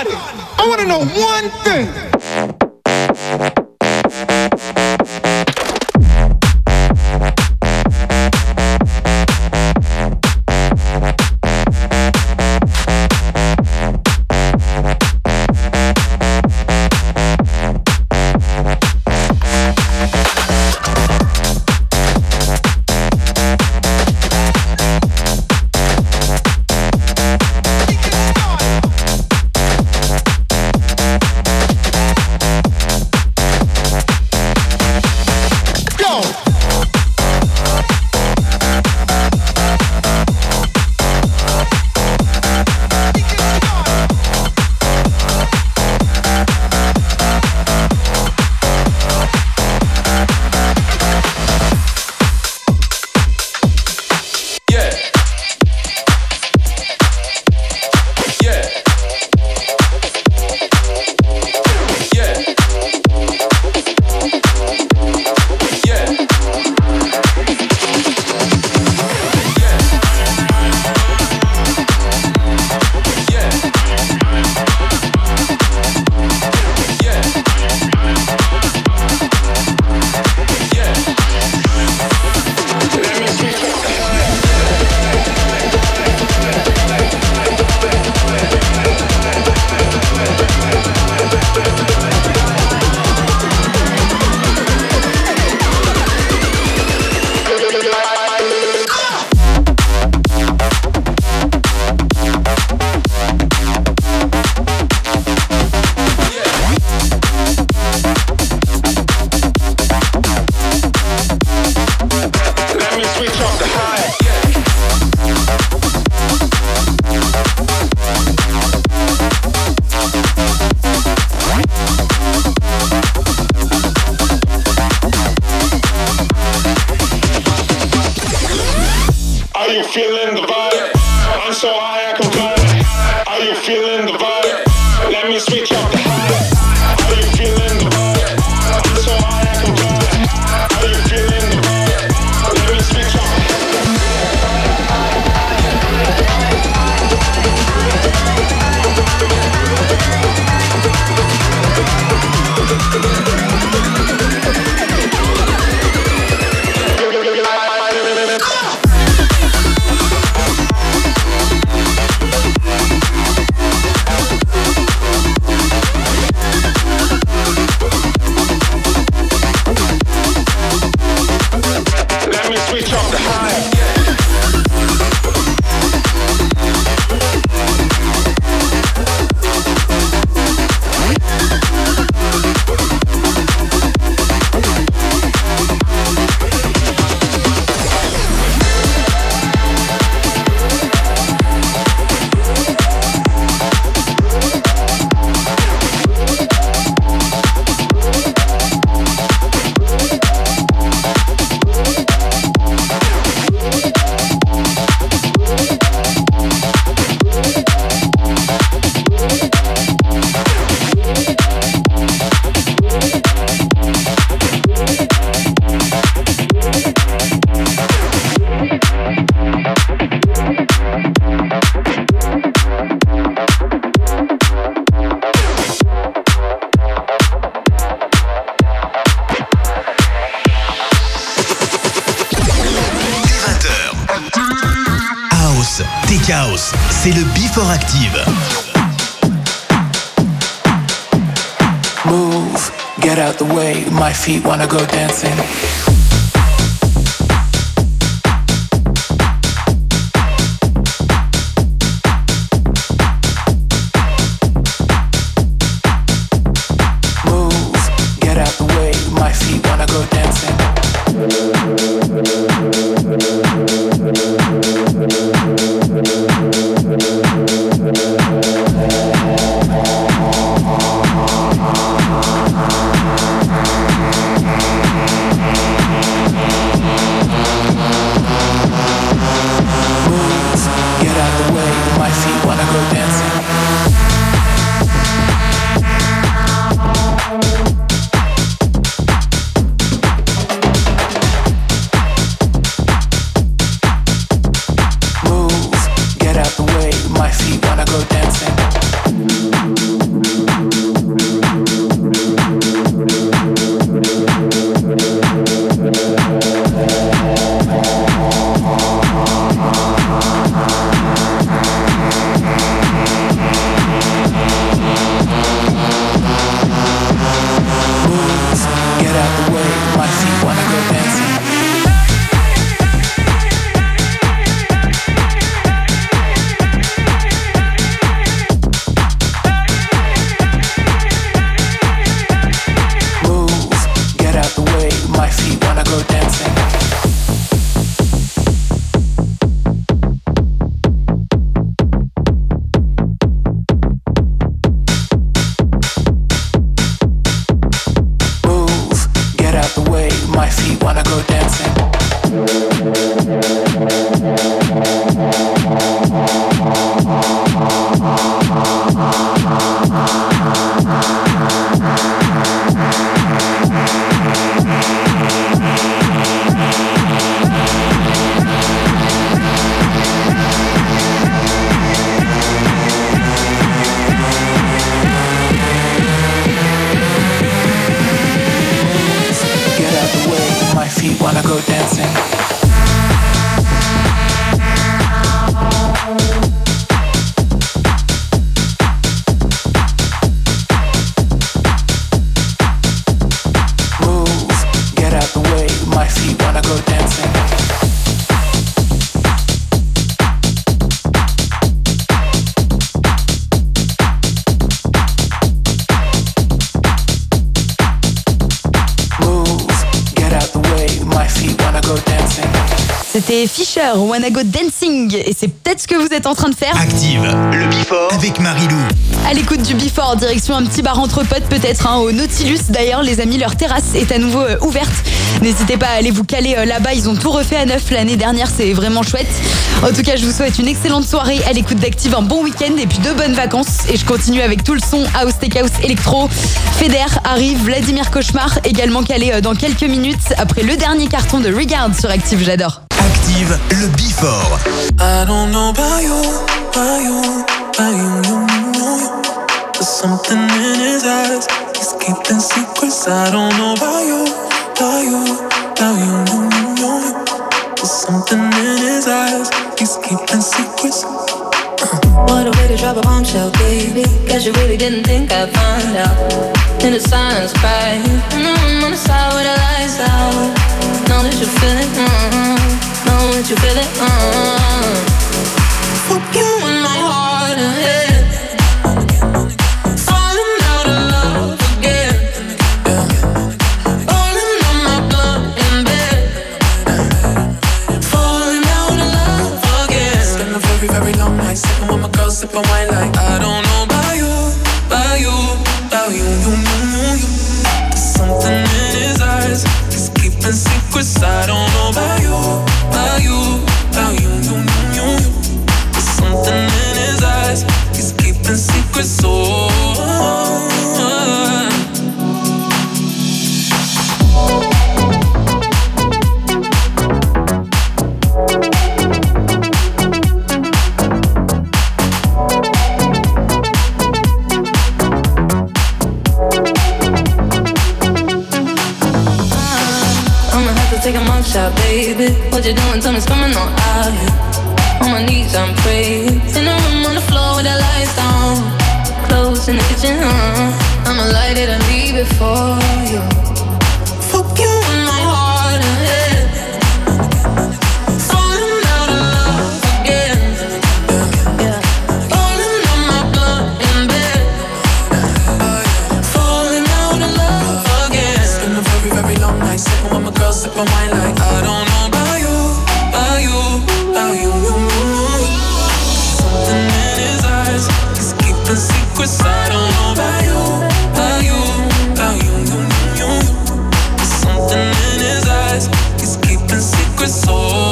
[SPEAKER 6] Everybody, I want to know one thing.
[SPEAKER 1] House, c'est le Before Active.
[SPEAKER 16] Move, get out the way, my feet wanna go dancing. Move, get out the way, my feet wanna go dancing. wanna go dancing.
[SPEAKER 2] C'était Fisher, Wanna Go Dancing. Et c'est peut-être ce que vous êtes en train de faire.
[SPEAKER 1] Active, le Before avec Marilou.
[SPEAKER 2] À l'écoute du Before, direction un petit bar entre potes peut-être, hein, au Nautilus. D'ailleurs, les amis, leur terrasse est à nouveau euh, ouverte. N'hésitez pas à aller vous caler euh, là-bas. Ils ont tout refait à neuf l'année dernière. C'est vraiment chouette. En tout cas, je vous souhaite une excellente soirée à l'écoute d'Active, un bon week-end et puis de bonnes vacances. Et je continue avec tout le son House, Tech House, Electro. Feder arrive, Vladimir Cauchemar également calé euh, dans quelques minutes après le dernier carton de Regard sur Active. J'adore.
[SPEAKER 1] Active, le Before.
[SPEAKER 3] I don't know about you, about you, about you, you, you, you. There's something in his eyes, he's keeping secrets. I don't know about you, about you, about you, you, you, you. There's something in his eyes, he's keeping secrets.
[SPEAKER 4] What a way to drop a bombshell, baby. Guess you really didn't think I'd find out. In the silence, crying. Mm-hmm, on the side with the lights out. Know that you feel it, mm-hmm. Know that you feel it, mm-hmm. Fuck you in my heart and head. Falling out of love again. Rolling on my blood in bed. Falling out of love again.
[SPEAKER 3] Spend a very, very long night sipping with my girl, sipping wine like I don't know about you, about you, about you, you, you, you, you. There's something in his eyes, he's keeping secrets. I don't know about you, about you, about you, you, you, you, you. There's something in his eyes, he's keeping secrets. Oh,
[SPEAKER 4] take a mug shot, baby. What you doing? Tell me it's coming on out here. On my knees, I'm praying. In the room on the floor with the lights down. Clothes in the kitchen, huh? I'ma light it and leave it for you. Fuck you in my heart and head. Falling out of love again. Yeah. Falling on my blood in bed. Falling out of love again.
[SPEAKER 3] it's been a very, very long night sipping with my girl, sipping wine like I don't know about you, about you, about you, you, you. Something in his eyes, he's keeping secrets. I don't know about you, about you, about you, you, you, you. There's something in his eyes, he's keeping secrets. Oh,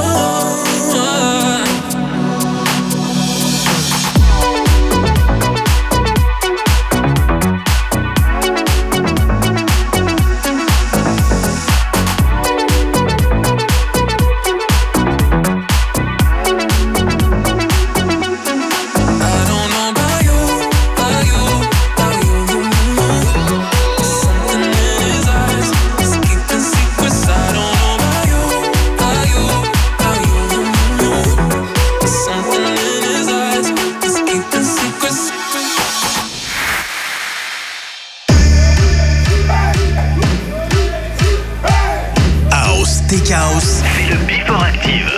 [SPEAKER 1] House, c'est le Before Active.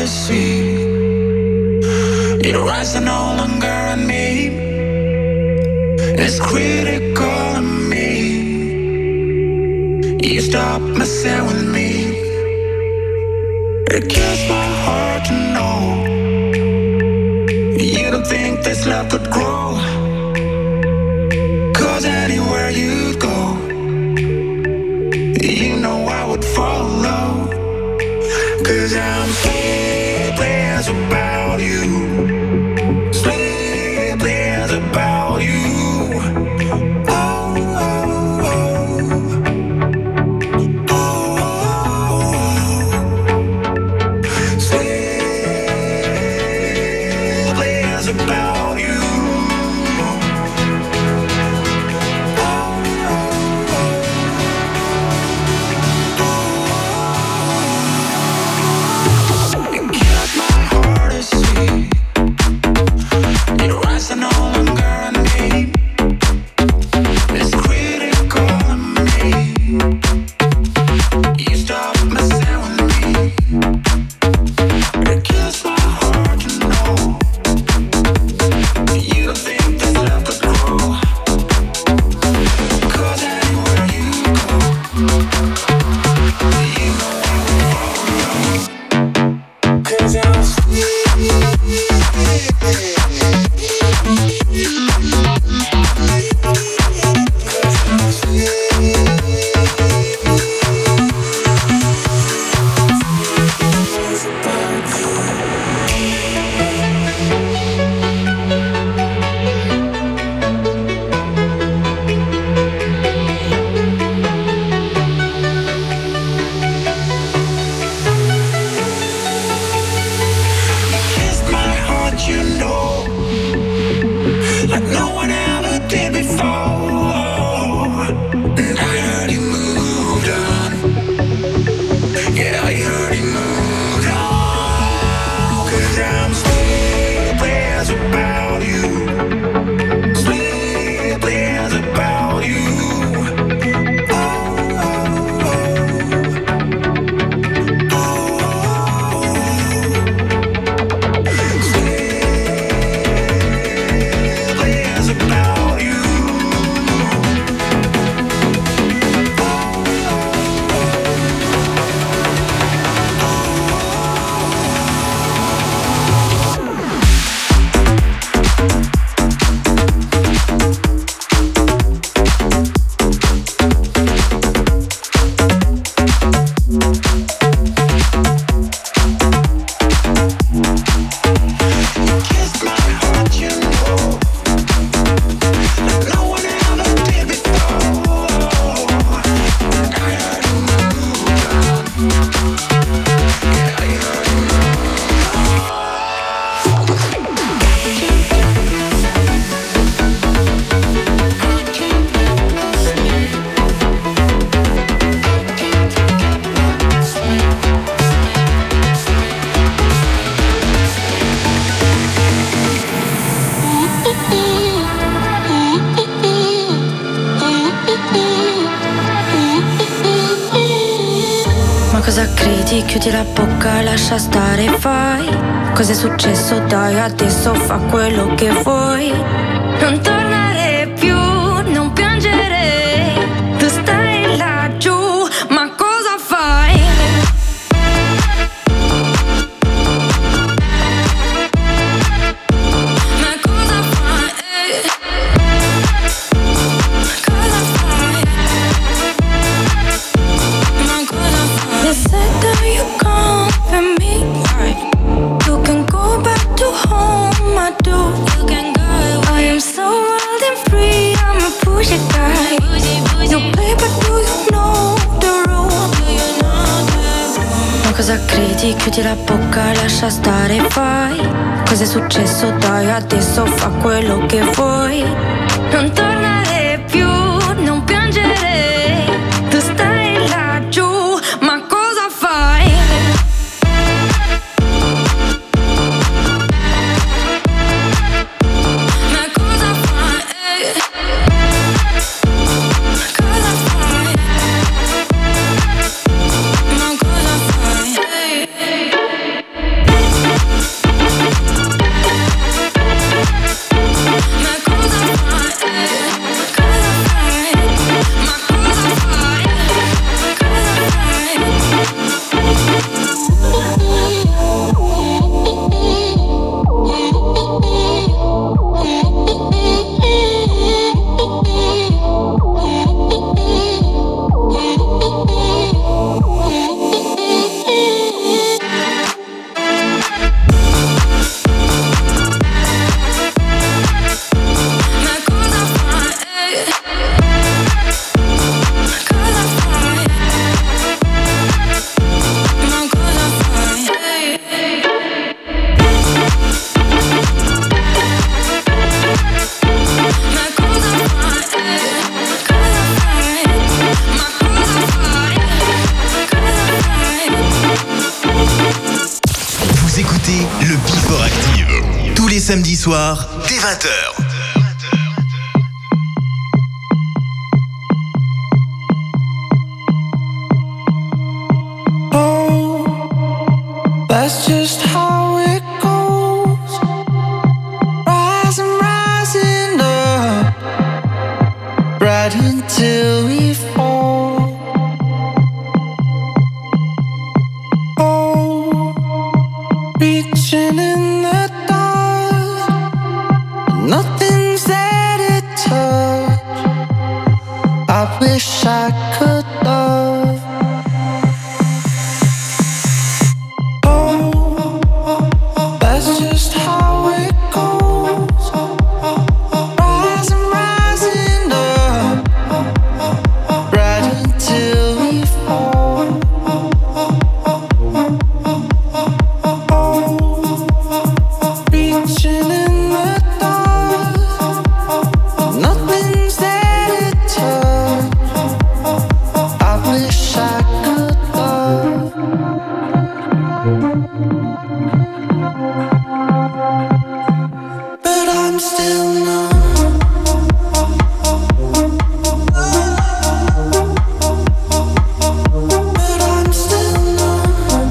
[SPEAKER 6] see your eyes are no longer on me. It's critical of me. You stop messing with me. It kills my heart to know you don't think this love could grow. Cause anywhere you'd go, you know I would follow. Cause I'm sleepless about you. Sleepless about you.
[SPEAKER 11] Chiudi la bocca, lascia stare, fai. Cos'è successo? Dai, adesso fa quello che vuoi. Non tornare più, non piangere. Tu stai laggiù, ma cosa fai? Ma cosa fai? Cosa fai? Ma cosa fai? You said that you come for me. You can go back to home, I do. You can go. I am so wild and free, I'm a bougie guy. You play, but do you know the rule? Ma cosa credi? Chiudi la bocca, lascia stare, fai. Cos'è successo? Dai, adesso fa quello che vuoi. Non tornare più, non piangere. Tu stai laggiù, ma cosa fai? Ma cosa fai? Cosa fai? Ma cosa fai?
[SPEAKER 1] écoutez le Before Active. Tous les samedis soirs, dès vingt heures.
[SPEAKER 10] That's just how it goes. Rising, rising up, right until we fall. Oh, reaching in the dark, nothing's there to touch. I wish I could love. That's just how it goes. Rising, rising up, right until we fall. Oh, reaching in the dark, nothing's there to touch. I wish I could love. But I'm still numb. But I'm still numb.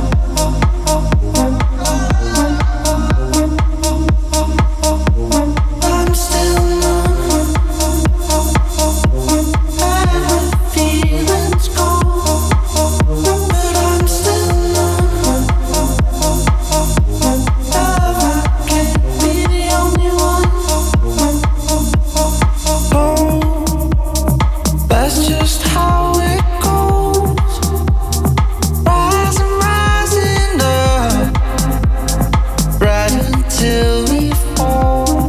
[SPEAKER 10] I'm still numb. Feelings gone. But I'm still numb. Love, I can't be the only one. Oh, that's just how it goes. Rising, rising up, right until we fall.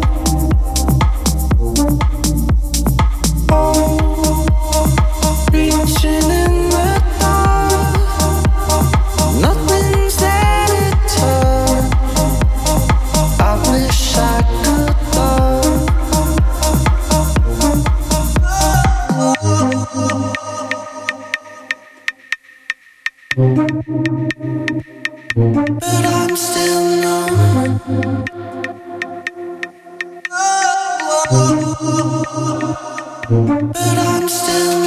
[SPEAKER 10] Oh, reaching in the dark, nothing's there to touch. I wish I could love. But I'm still numb. But I'm still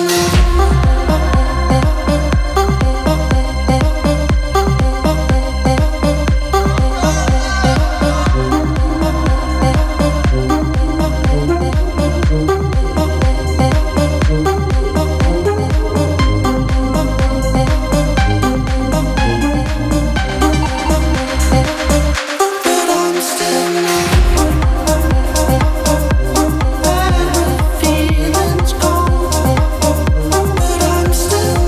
[SPEAKER 10] But I'm still feelings gone. But I'm still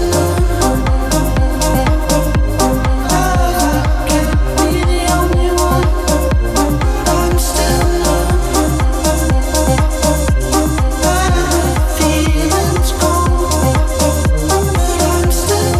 [SPEAKER 10] love, I can't be the only one. I'm still feelings gone. But I'm still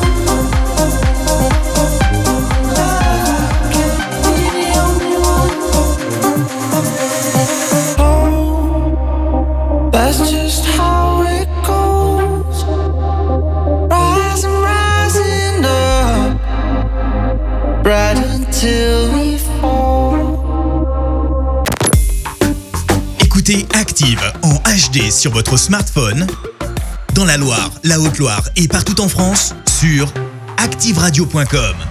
[SPEAKER 10] that's just how it goes. Rising, rising up, right until we fall.
[SPEAKER 1] Écoutez Active en H D sur votre smartphone, dans la Loire, la Haute-Loire et partout en France, sur active radio point com.